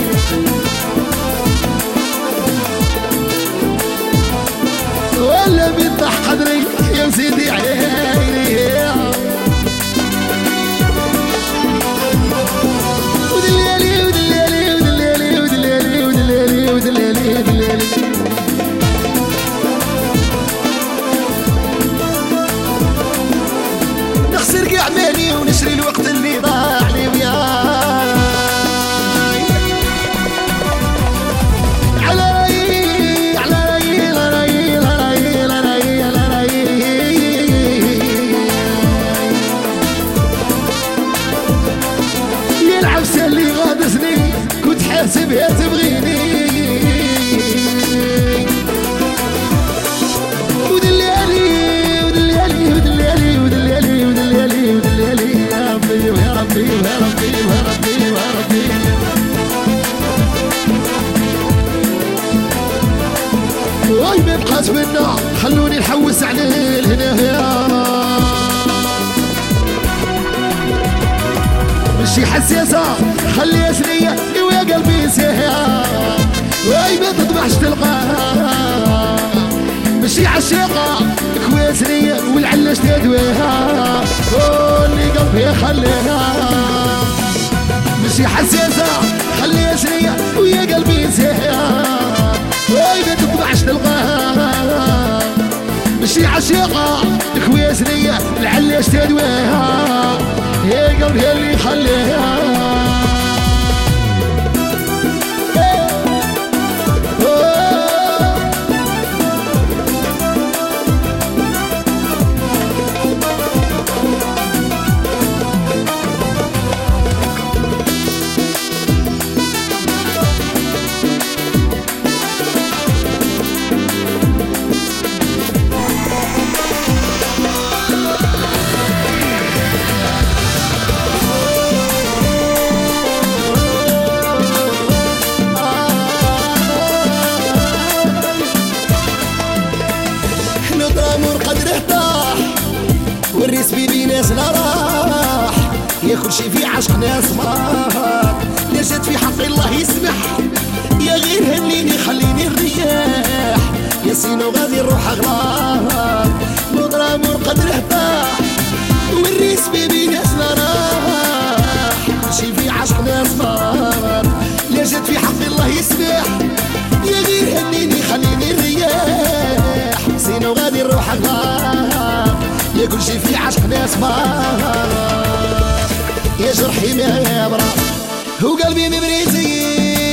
ولا بيطح قدري يا سيدي عليا، ودليلي ودليلي ودليلي ودليلي ودليلي ودليلي ودليلي نخسر كاع مالي ونشري الوقت اللي ضاع لي وياه، واي ما بقات منا خلوني نحوس عليه لهنا مشي حساسة خليها سرية ويا قلبي سيها واي ما تطمحش تلقاها مشي عشيقة كويسرية والعلاش تدويها واللي قلبي خليها مشي حساسة خليها سرية ويا قلبي سيها واي ما تطمحش تلقاها مشي عشيقة كويسرية العلاش تدويها يا قلبي اللي خليها والريس بيبي ناس لا راح يا كل شي في عشق ناس مار لا جات في حق الله يسمح يا غير هنيني خليني نريح يا سينو غادي نروح اغلاط مضرب والقدر طاح والريس بيبي ناس لا راح كل شي في عشق ناس مار لا جات في حق الله يسمح يا غير هنيني خليني نريح سينو غادي نروح اغلاط يا كل شي في عشق ناس مار يا جرحي ما يبرى وقلبي مبريزي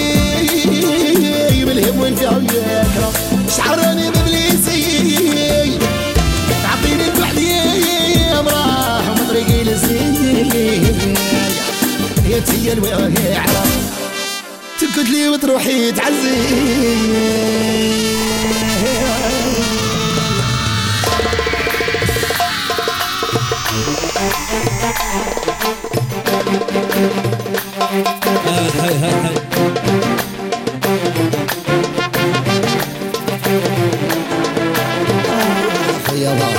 بالهم والفعل يكره شعراني ببليسي تعطيني البحدي يا براح ومن طريقي للزين يا تيا الوعي عرف تكت لي وتروحي تعزي هاي هاي هاي يا بابا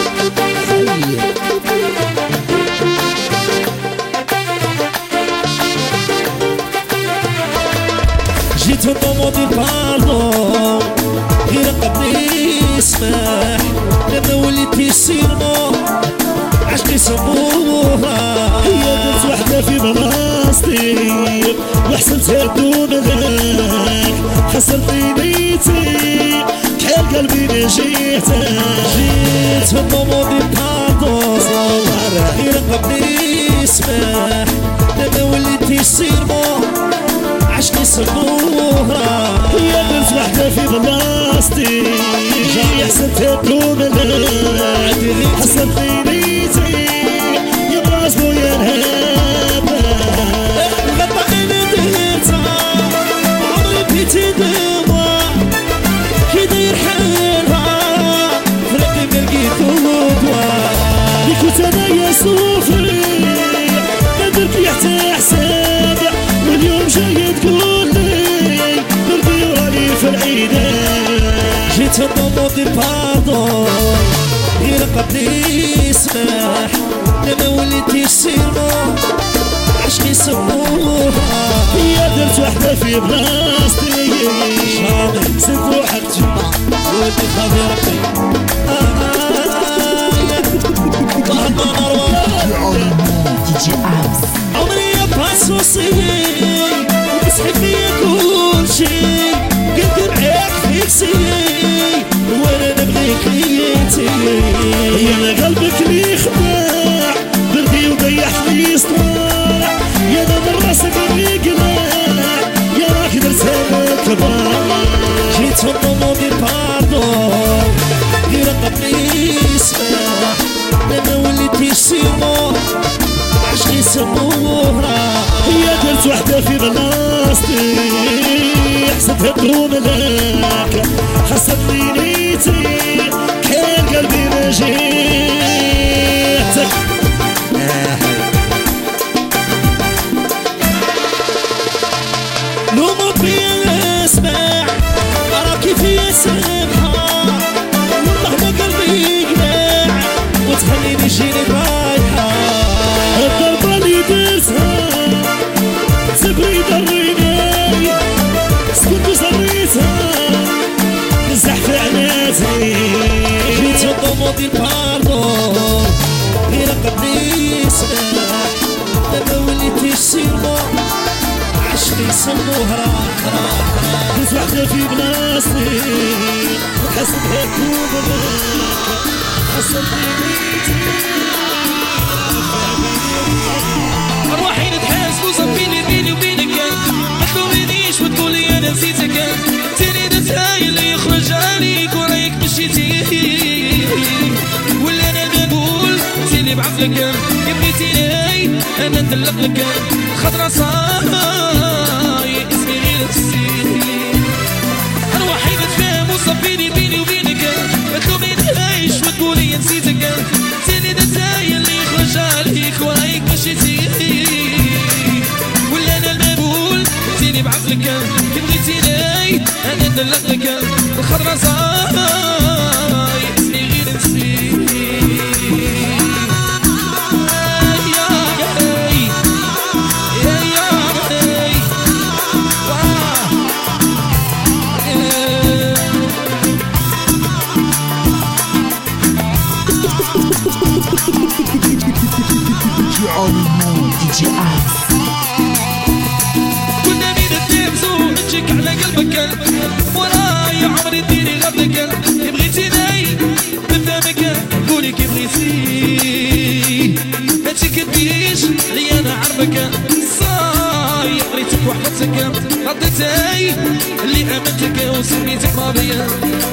جيت وطموطي باردون غير قبلي يسمح لما وليتي سيرمو عشقي سموها هي بنت وحدة في بلاصتي وحسنتها دون ذاك خسرتي نيتي كحال قلبي ما جيتك جيت وطموطي باردون غير قبلي يسمح لما وليتي سيرمو عشقي سموها هي بنت وحدة في بلاصتي حسنتها دون ذاك خسرتي نيتي يا براس بويا نهابة غطا انا درتها عمري بيتي دوا كي داير حالها فرقي ما لقيتو دوا اللي كنت انا يا صوفي ما درت لي حتى حساب واليوم جاي تقول لي دربي وراني في العيدان جيت وطموطي باردون غير قبلي يسمح لما وليتي سيرمو عشقي سموها هي درت وحدة في بلاصتي زدت روحك تجمع ودي خافي ربي DJ Arms. عمري يا باسوسي وتسحب فيا كل شي قلت معاك فيكسي وانا نبغيك نيتي يا انا قلبك لي خداع بردي وضيعت لي صداع يا انا من راسك اللي قناع يا راك درتها كبار جيت وطموطي باردون غير قبلي يسمح لما وليتي سيرمو عشقي سموها هي درت وحدة في بلاصتي حسبتها بدون ذاك خسرتني نيتي كان قلبي ما جيتك لو ما بيا اسمع راكي فيا سامع ديموندي الباردون غير قدي سلاح دابا وليتي سيرمو عشقي يسموه راح دوز وحدة في بلاصتي وحسب هيك وبغيك حسب أرواحي نتحاسبوا صفيني بيني وبينك ما تلومينيش وتقولي أنا نسيتك تاني نتهايل اللي يخرج عليك ورايك مشيتي ولا أنا نقول تاني بعفلك يا بغيتيني أنا ندلق لك خضرا صاي اسمي غير السيد أرواحي نتفاهم وصفيني بيني وبينك ما تلومينيش وتقولي نسيتك تاني نتهايل اللي يخرج عليك ورايك مشيتي ولا انا المقبول تيني بعقلك كي بغيتيني انا ندلق لك الخضرا صاي اسمي غير نسيت DJ Abs. كنا بين التلفزو نشك على قلبك وراي عمري ديري غبلك كي بغيتيني نبدا بك قولي كي بغيتي ما تكذبيش لي انا عربك صاي قريتك وحبتك رديتي اللي امنتك وسميتك ماضيه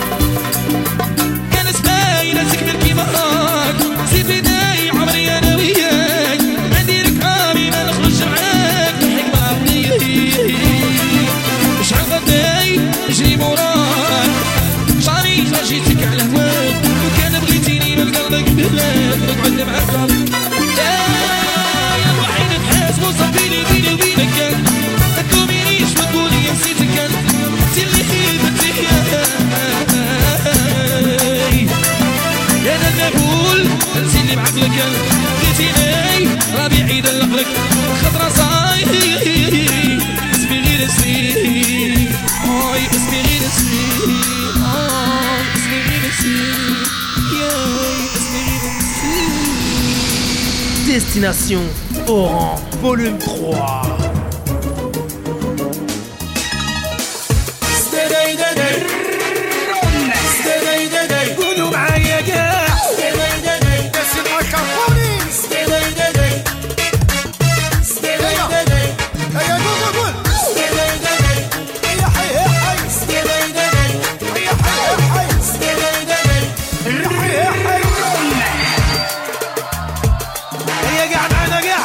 كانت باينه تكمل كيما راك زيد بيداي عمري انا وياك نديرك عامي ما نخرج معاك نحيك مع بنيتي شحال غداي نجري موراك شعري خرجيتك على هواك وكان بغيتيني من قلبك بلاد نقعد معاك يا روحي نتحاسبو صافيني بيني وبينك ما تلومينيش وتقولي نسيتك انت اللي بنتي يا انا نقول انت اللي بعقلك بغيتيني ربيعي يدلق لك خضرا صاي اسمي غير اسمي هاي اسمي غير اسمي اسمي غير اسمي ياي اسمي غير اسمي Destination Oran, volume 3. قولوا معايا كاع اسمع كافوني هيا قول قول هيا حي حي هيا حي حي هيا قاع معانا قاع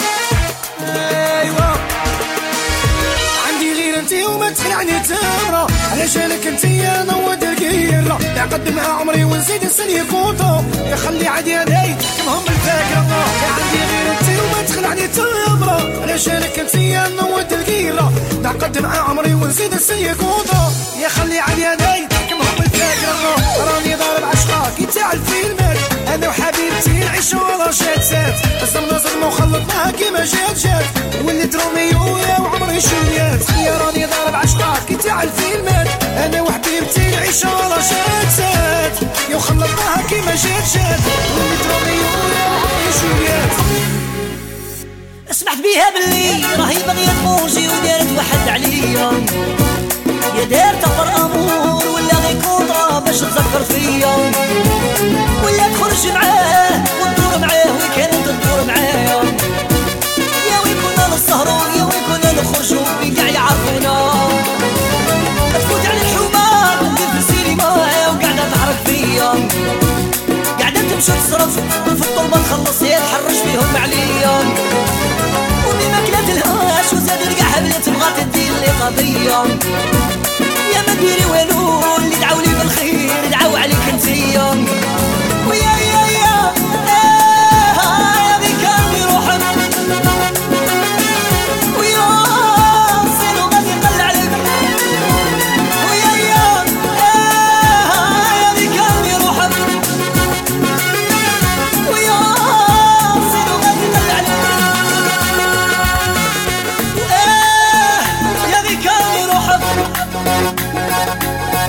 ايوا عندي غير انتي وما تخلعني تمرة علشانك انتي يا نود القيرة نقدمها عمري ونزيد نسني كونتو يخلي عادي هداي كمهم الفاكرة عندي غير انتي وما تخلعني تمرة علشانك انتي يا نود القيرة نقدمها عمري ونزيد نسني كونتو يخلي عادي هداي كمهم الفاكرة راني ضارب عشقاك يتاع الفيلمات انا وحبيبتي نعيشو على شات الزمنا صدمة وخلطناها كيما جات وليت روميو يا وعمري شويات يا راني ضارب عشقاك يتاع الفيلمات انا وحبيبتي نعيشو على شات يا وخلطناها كيما جات وليت روميو يا وعمري شويات سمعت بيها باللي راهي باغية تموجي ودارت واحد عليا يا دارت اخر امور ولا غير كونطرا باش تذكر فيا ولا تخرج معاه وتدور معاه وكانت تدور معايا يا وين كنا نسهرو يا وين كنا نخرجو بكاع يعرفونا تفوت على الحومات ندير في السينما وقاعدة تحرك فيا قاعدة تمشي تصرف وفي الطلبة تخلص هي تحرش فيهم عليا ودي ما كلاتلهاش وزادت كاع حبلة تبغى تدير لي قضية يا ما ديري والو اللي دعاولي بالخير دعاو عليك انتيا ويا يا ذيك قلبي روحك ويا سيلو غادي يقل عليك ويا ذيك قلبي روحك ويا سيلو غادي يقل عليك يا ذيك قلبي روحك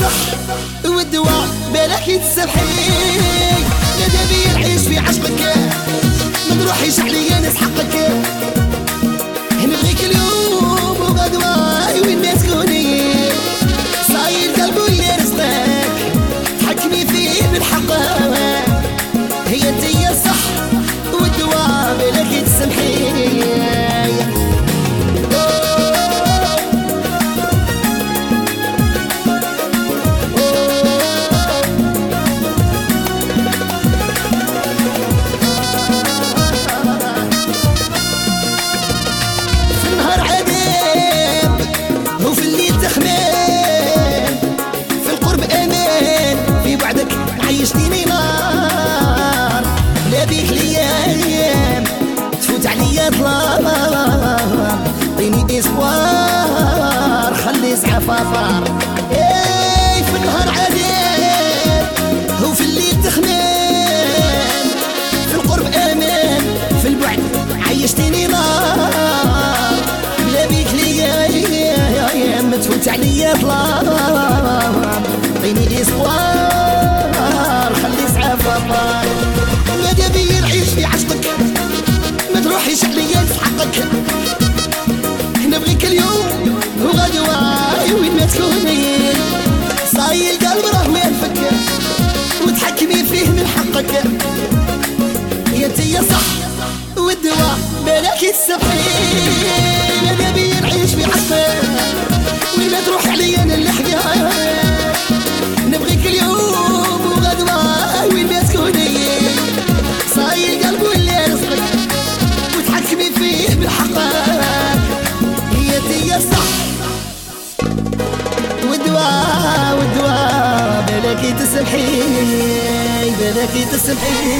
الصح والدواء بالك يتسبحي ماذا بيا نعيش في عشقك ما نروحيش عليا ناس حقك نبغيك اليوم وغدوة وين ما تكوني صاير قلب اللي رزقك تحكمي فيه بالحق هي انتي الصح والدواء بالك يتسمحي عيشتيني نار لا بيك ليام تفوت عليا ظلام عطيني اسوار خلي زعفافار اي في النهار عذاب وفي الليل تخمام في القرب امان في البعد عيشتيني نار لا بيك ليام تفوت عليا ظلام عطيني اسوار خلي زعفافار ماذا بيا نعيش في عشقك ما تروحيش عليا في حقك نبغيك اليوم وغدوة وين ما تكوني صاير القلب راه ما ينفك وتحكمي فيه من حقك يا انتي صح والدواء بالك يتسبحي ماذا بيا نعيش في عشقك وين ما تروح عليا نلحقها نبغيك اليوم وغدوة وين ما تكوني صاير قلب اللي رزقك وتحكمي فيه بالحقك هي انتي الصح والدواء بالك تسمحي بالك تسمحي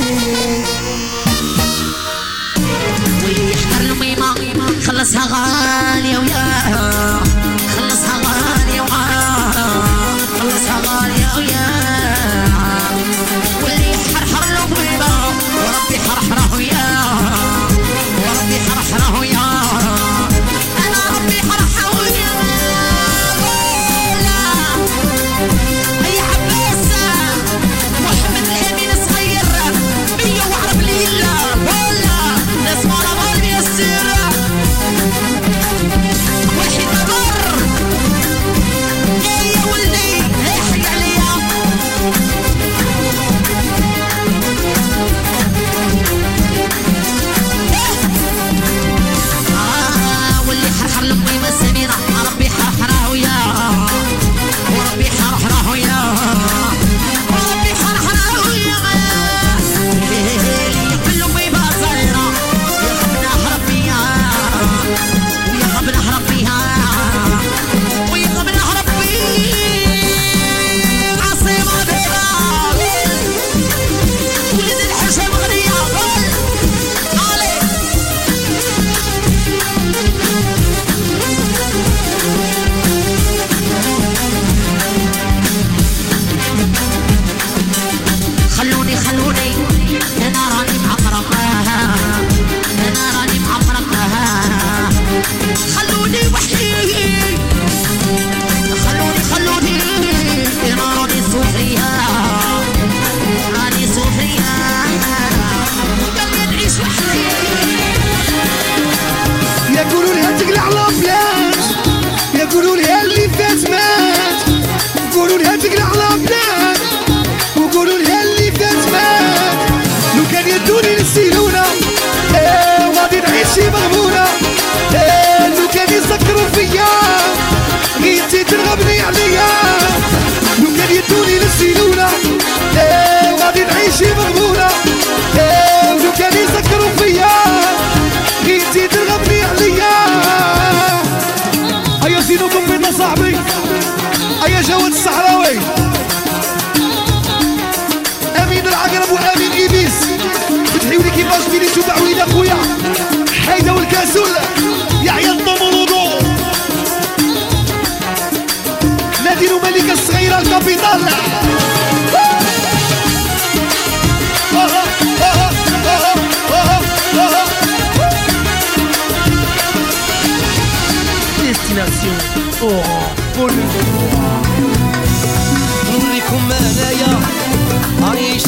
واللي يحضر الميمة خلصها غالية ويا خلصها غالية ويا خلصها غالية ويا واللي يحرحر له بالبا وربي حرحره ويا وربي حرحره ويا أنا ربي حرحره ويا يا عباس محمد الأمين صغير بيا وعرب ليلة ولا ناس مرة غالية السيرة واحد مر يا ولدي احرق عليا واللي حرحر لأمي مساميرة ربي حرحره ويا وربي حرحره ويا وربي حرحره ويا اللي يقبل لأمي باصيرة ويخبنا أحرب فيها ويخبنا أحرب فيها ويخبنا أحرب فيها عصيمة بيضا ولد الحشا مغنية علي خلوني انا راني معمرقها انا راني معمرقها خلوني وحدي خلوني انا راني صوفيها راني صوفيها قلبي نعيش وحدي يقولوا لي تقلع الابلاش يقولوا لي اللي فات مات يقولوا لي تقلع الابلاش وقولوا لي اللي فات مات لو كان يدوني للسيلونة وغادي نعيش مغبونة لو كان يسكروا فيا غيتي ترغبني عليا لو كان يدوني للسيلونة وغادي نعيش مغبونة لو كان يسكروا فيا غيتي ترغبني عليا هيا زينوكم بينا صاحبي هيا جواد الصحراوي امين العقرب وامين ايبيس فتحيولي كيفاش ديري تبعوين اخويا حيدة والكاسول يا عيال طمرودو ناديرو ملكة الصغيرة الكابيتال Destination Oran, Pôle.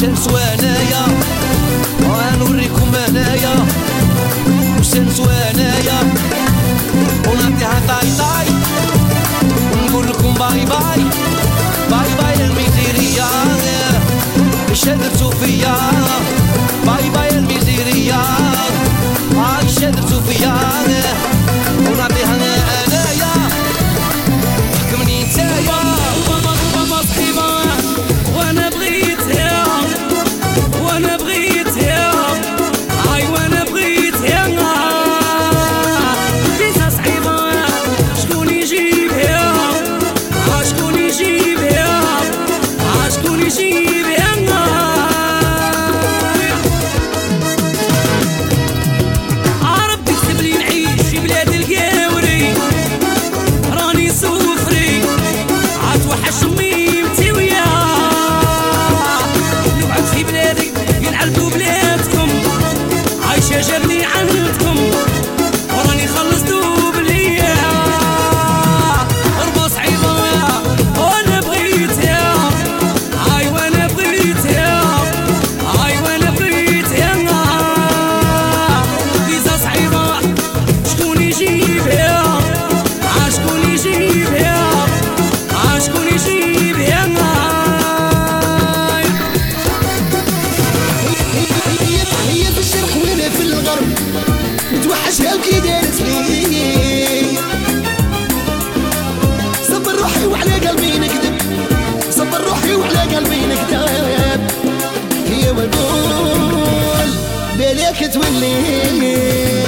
نسوى انايا ونوريكم انايا واش نسوى انايا ونعطيها طاي طاي ونقول لكم باي باي باي باي الميزيريا اش درتو فيا باي باي الميزيريا اش درتو فيا ونعطيها انايا حكمني نتايا ماما صحيبة وانا بغيتها وانا بغيتها هاي وانا بغيتها فيزا صعيبة شكون يجيبها شكون يجيبها شكون يجيبها ربي كتب لي نعيش في بلاد القاوري راني سوفري عاد وحش ميمتي وياه نقعد في بلادي ينعلبوا بلادكم عايشة جرني عندكم وراني خلصتو بليا ربا صعيبة وانا بغيتها هاي وانا بغيتها هاي وانا بغيتها فيزا صعيبة شكون يجيبها شكون يجيبها شكون يجيبها هي في الشرق وانا في الغرب متوحشها وكي دارت لي صبر روحي وعلى قلبي نكذب صبر روحي وعلى قلبي نكذب هي ونقول بالك تولي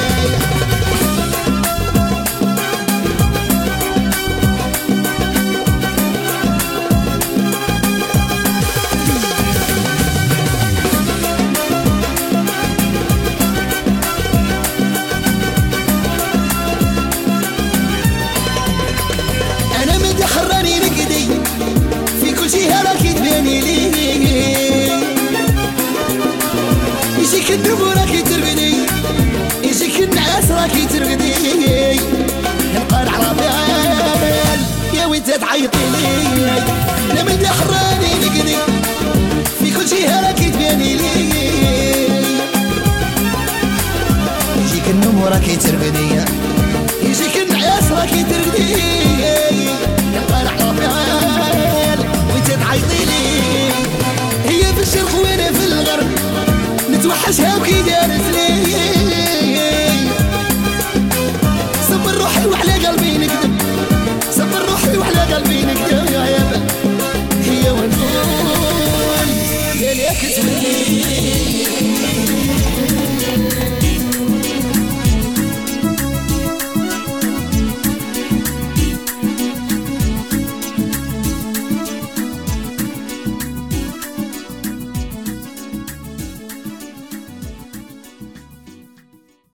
انا من حراني نقدي في كل شي راكي تباني لي يجيك النوم راكي ترقدي يجيك النعاس راكي ترقدي نبقى على بال يا وانت تعيطي لي انا من حراني نقدي في كل شي راكي تباني لي يجيك النوم راكي ترقدي يجيك النعاس راكي ترقدي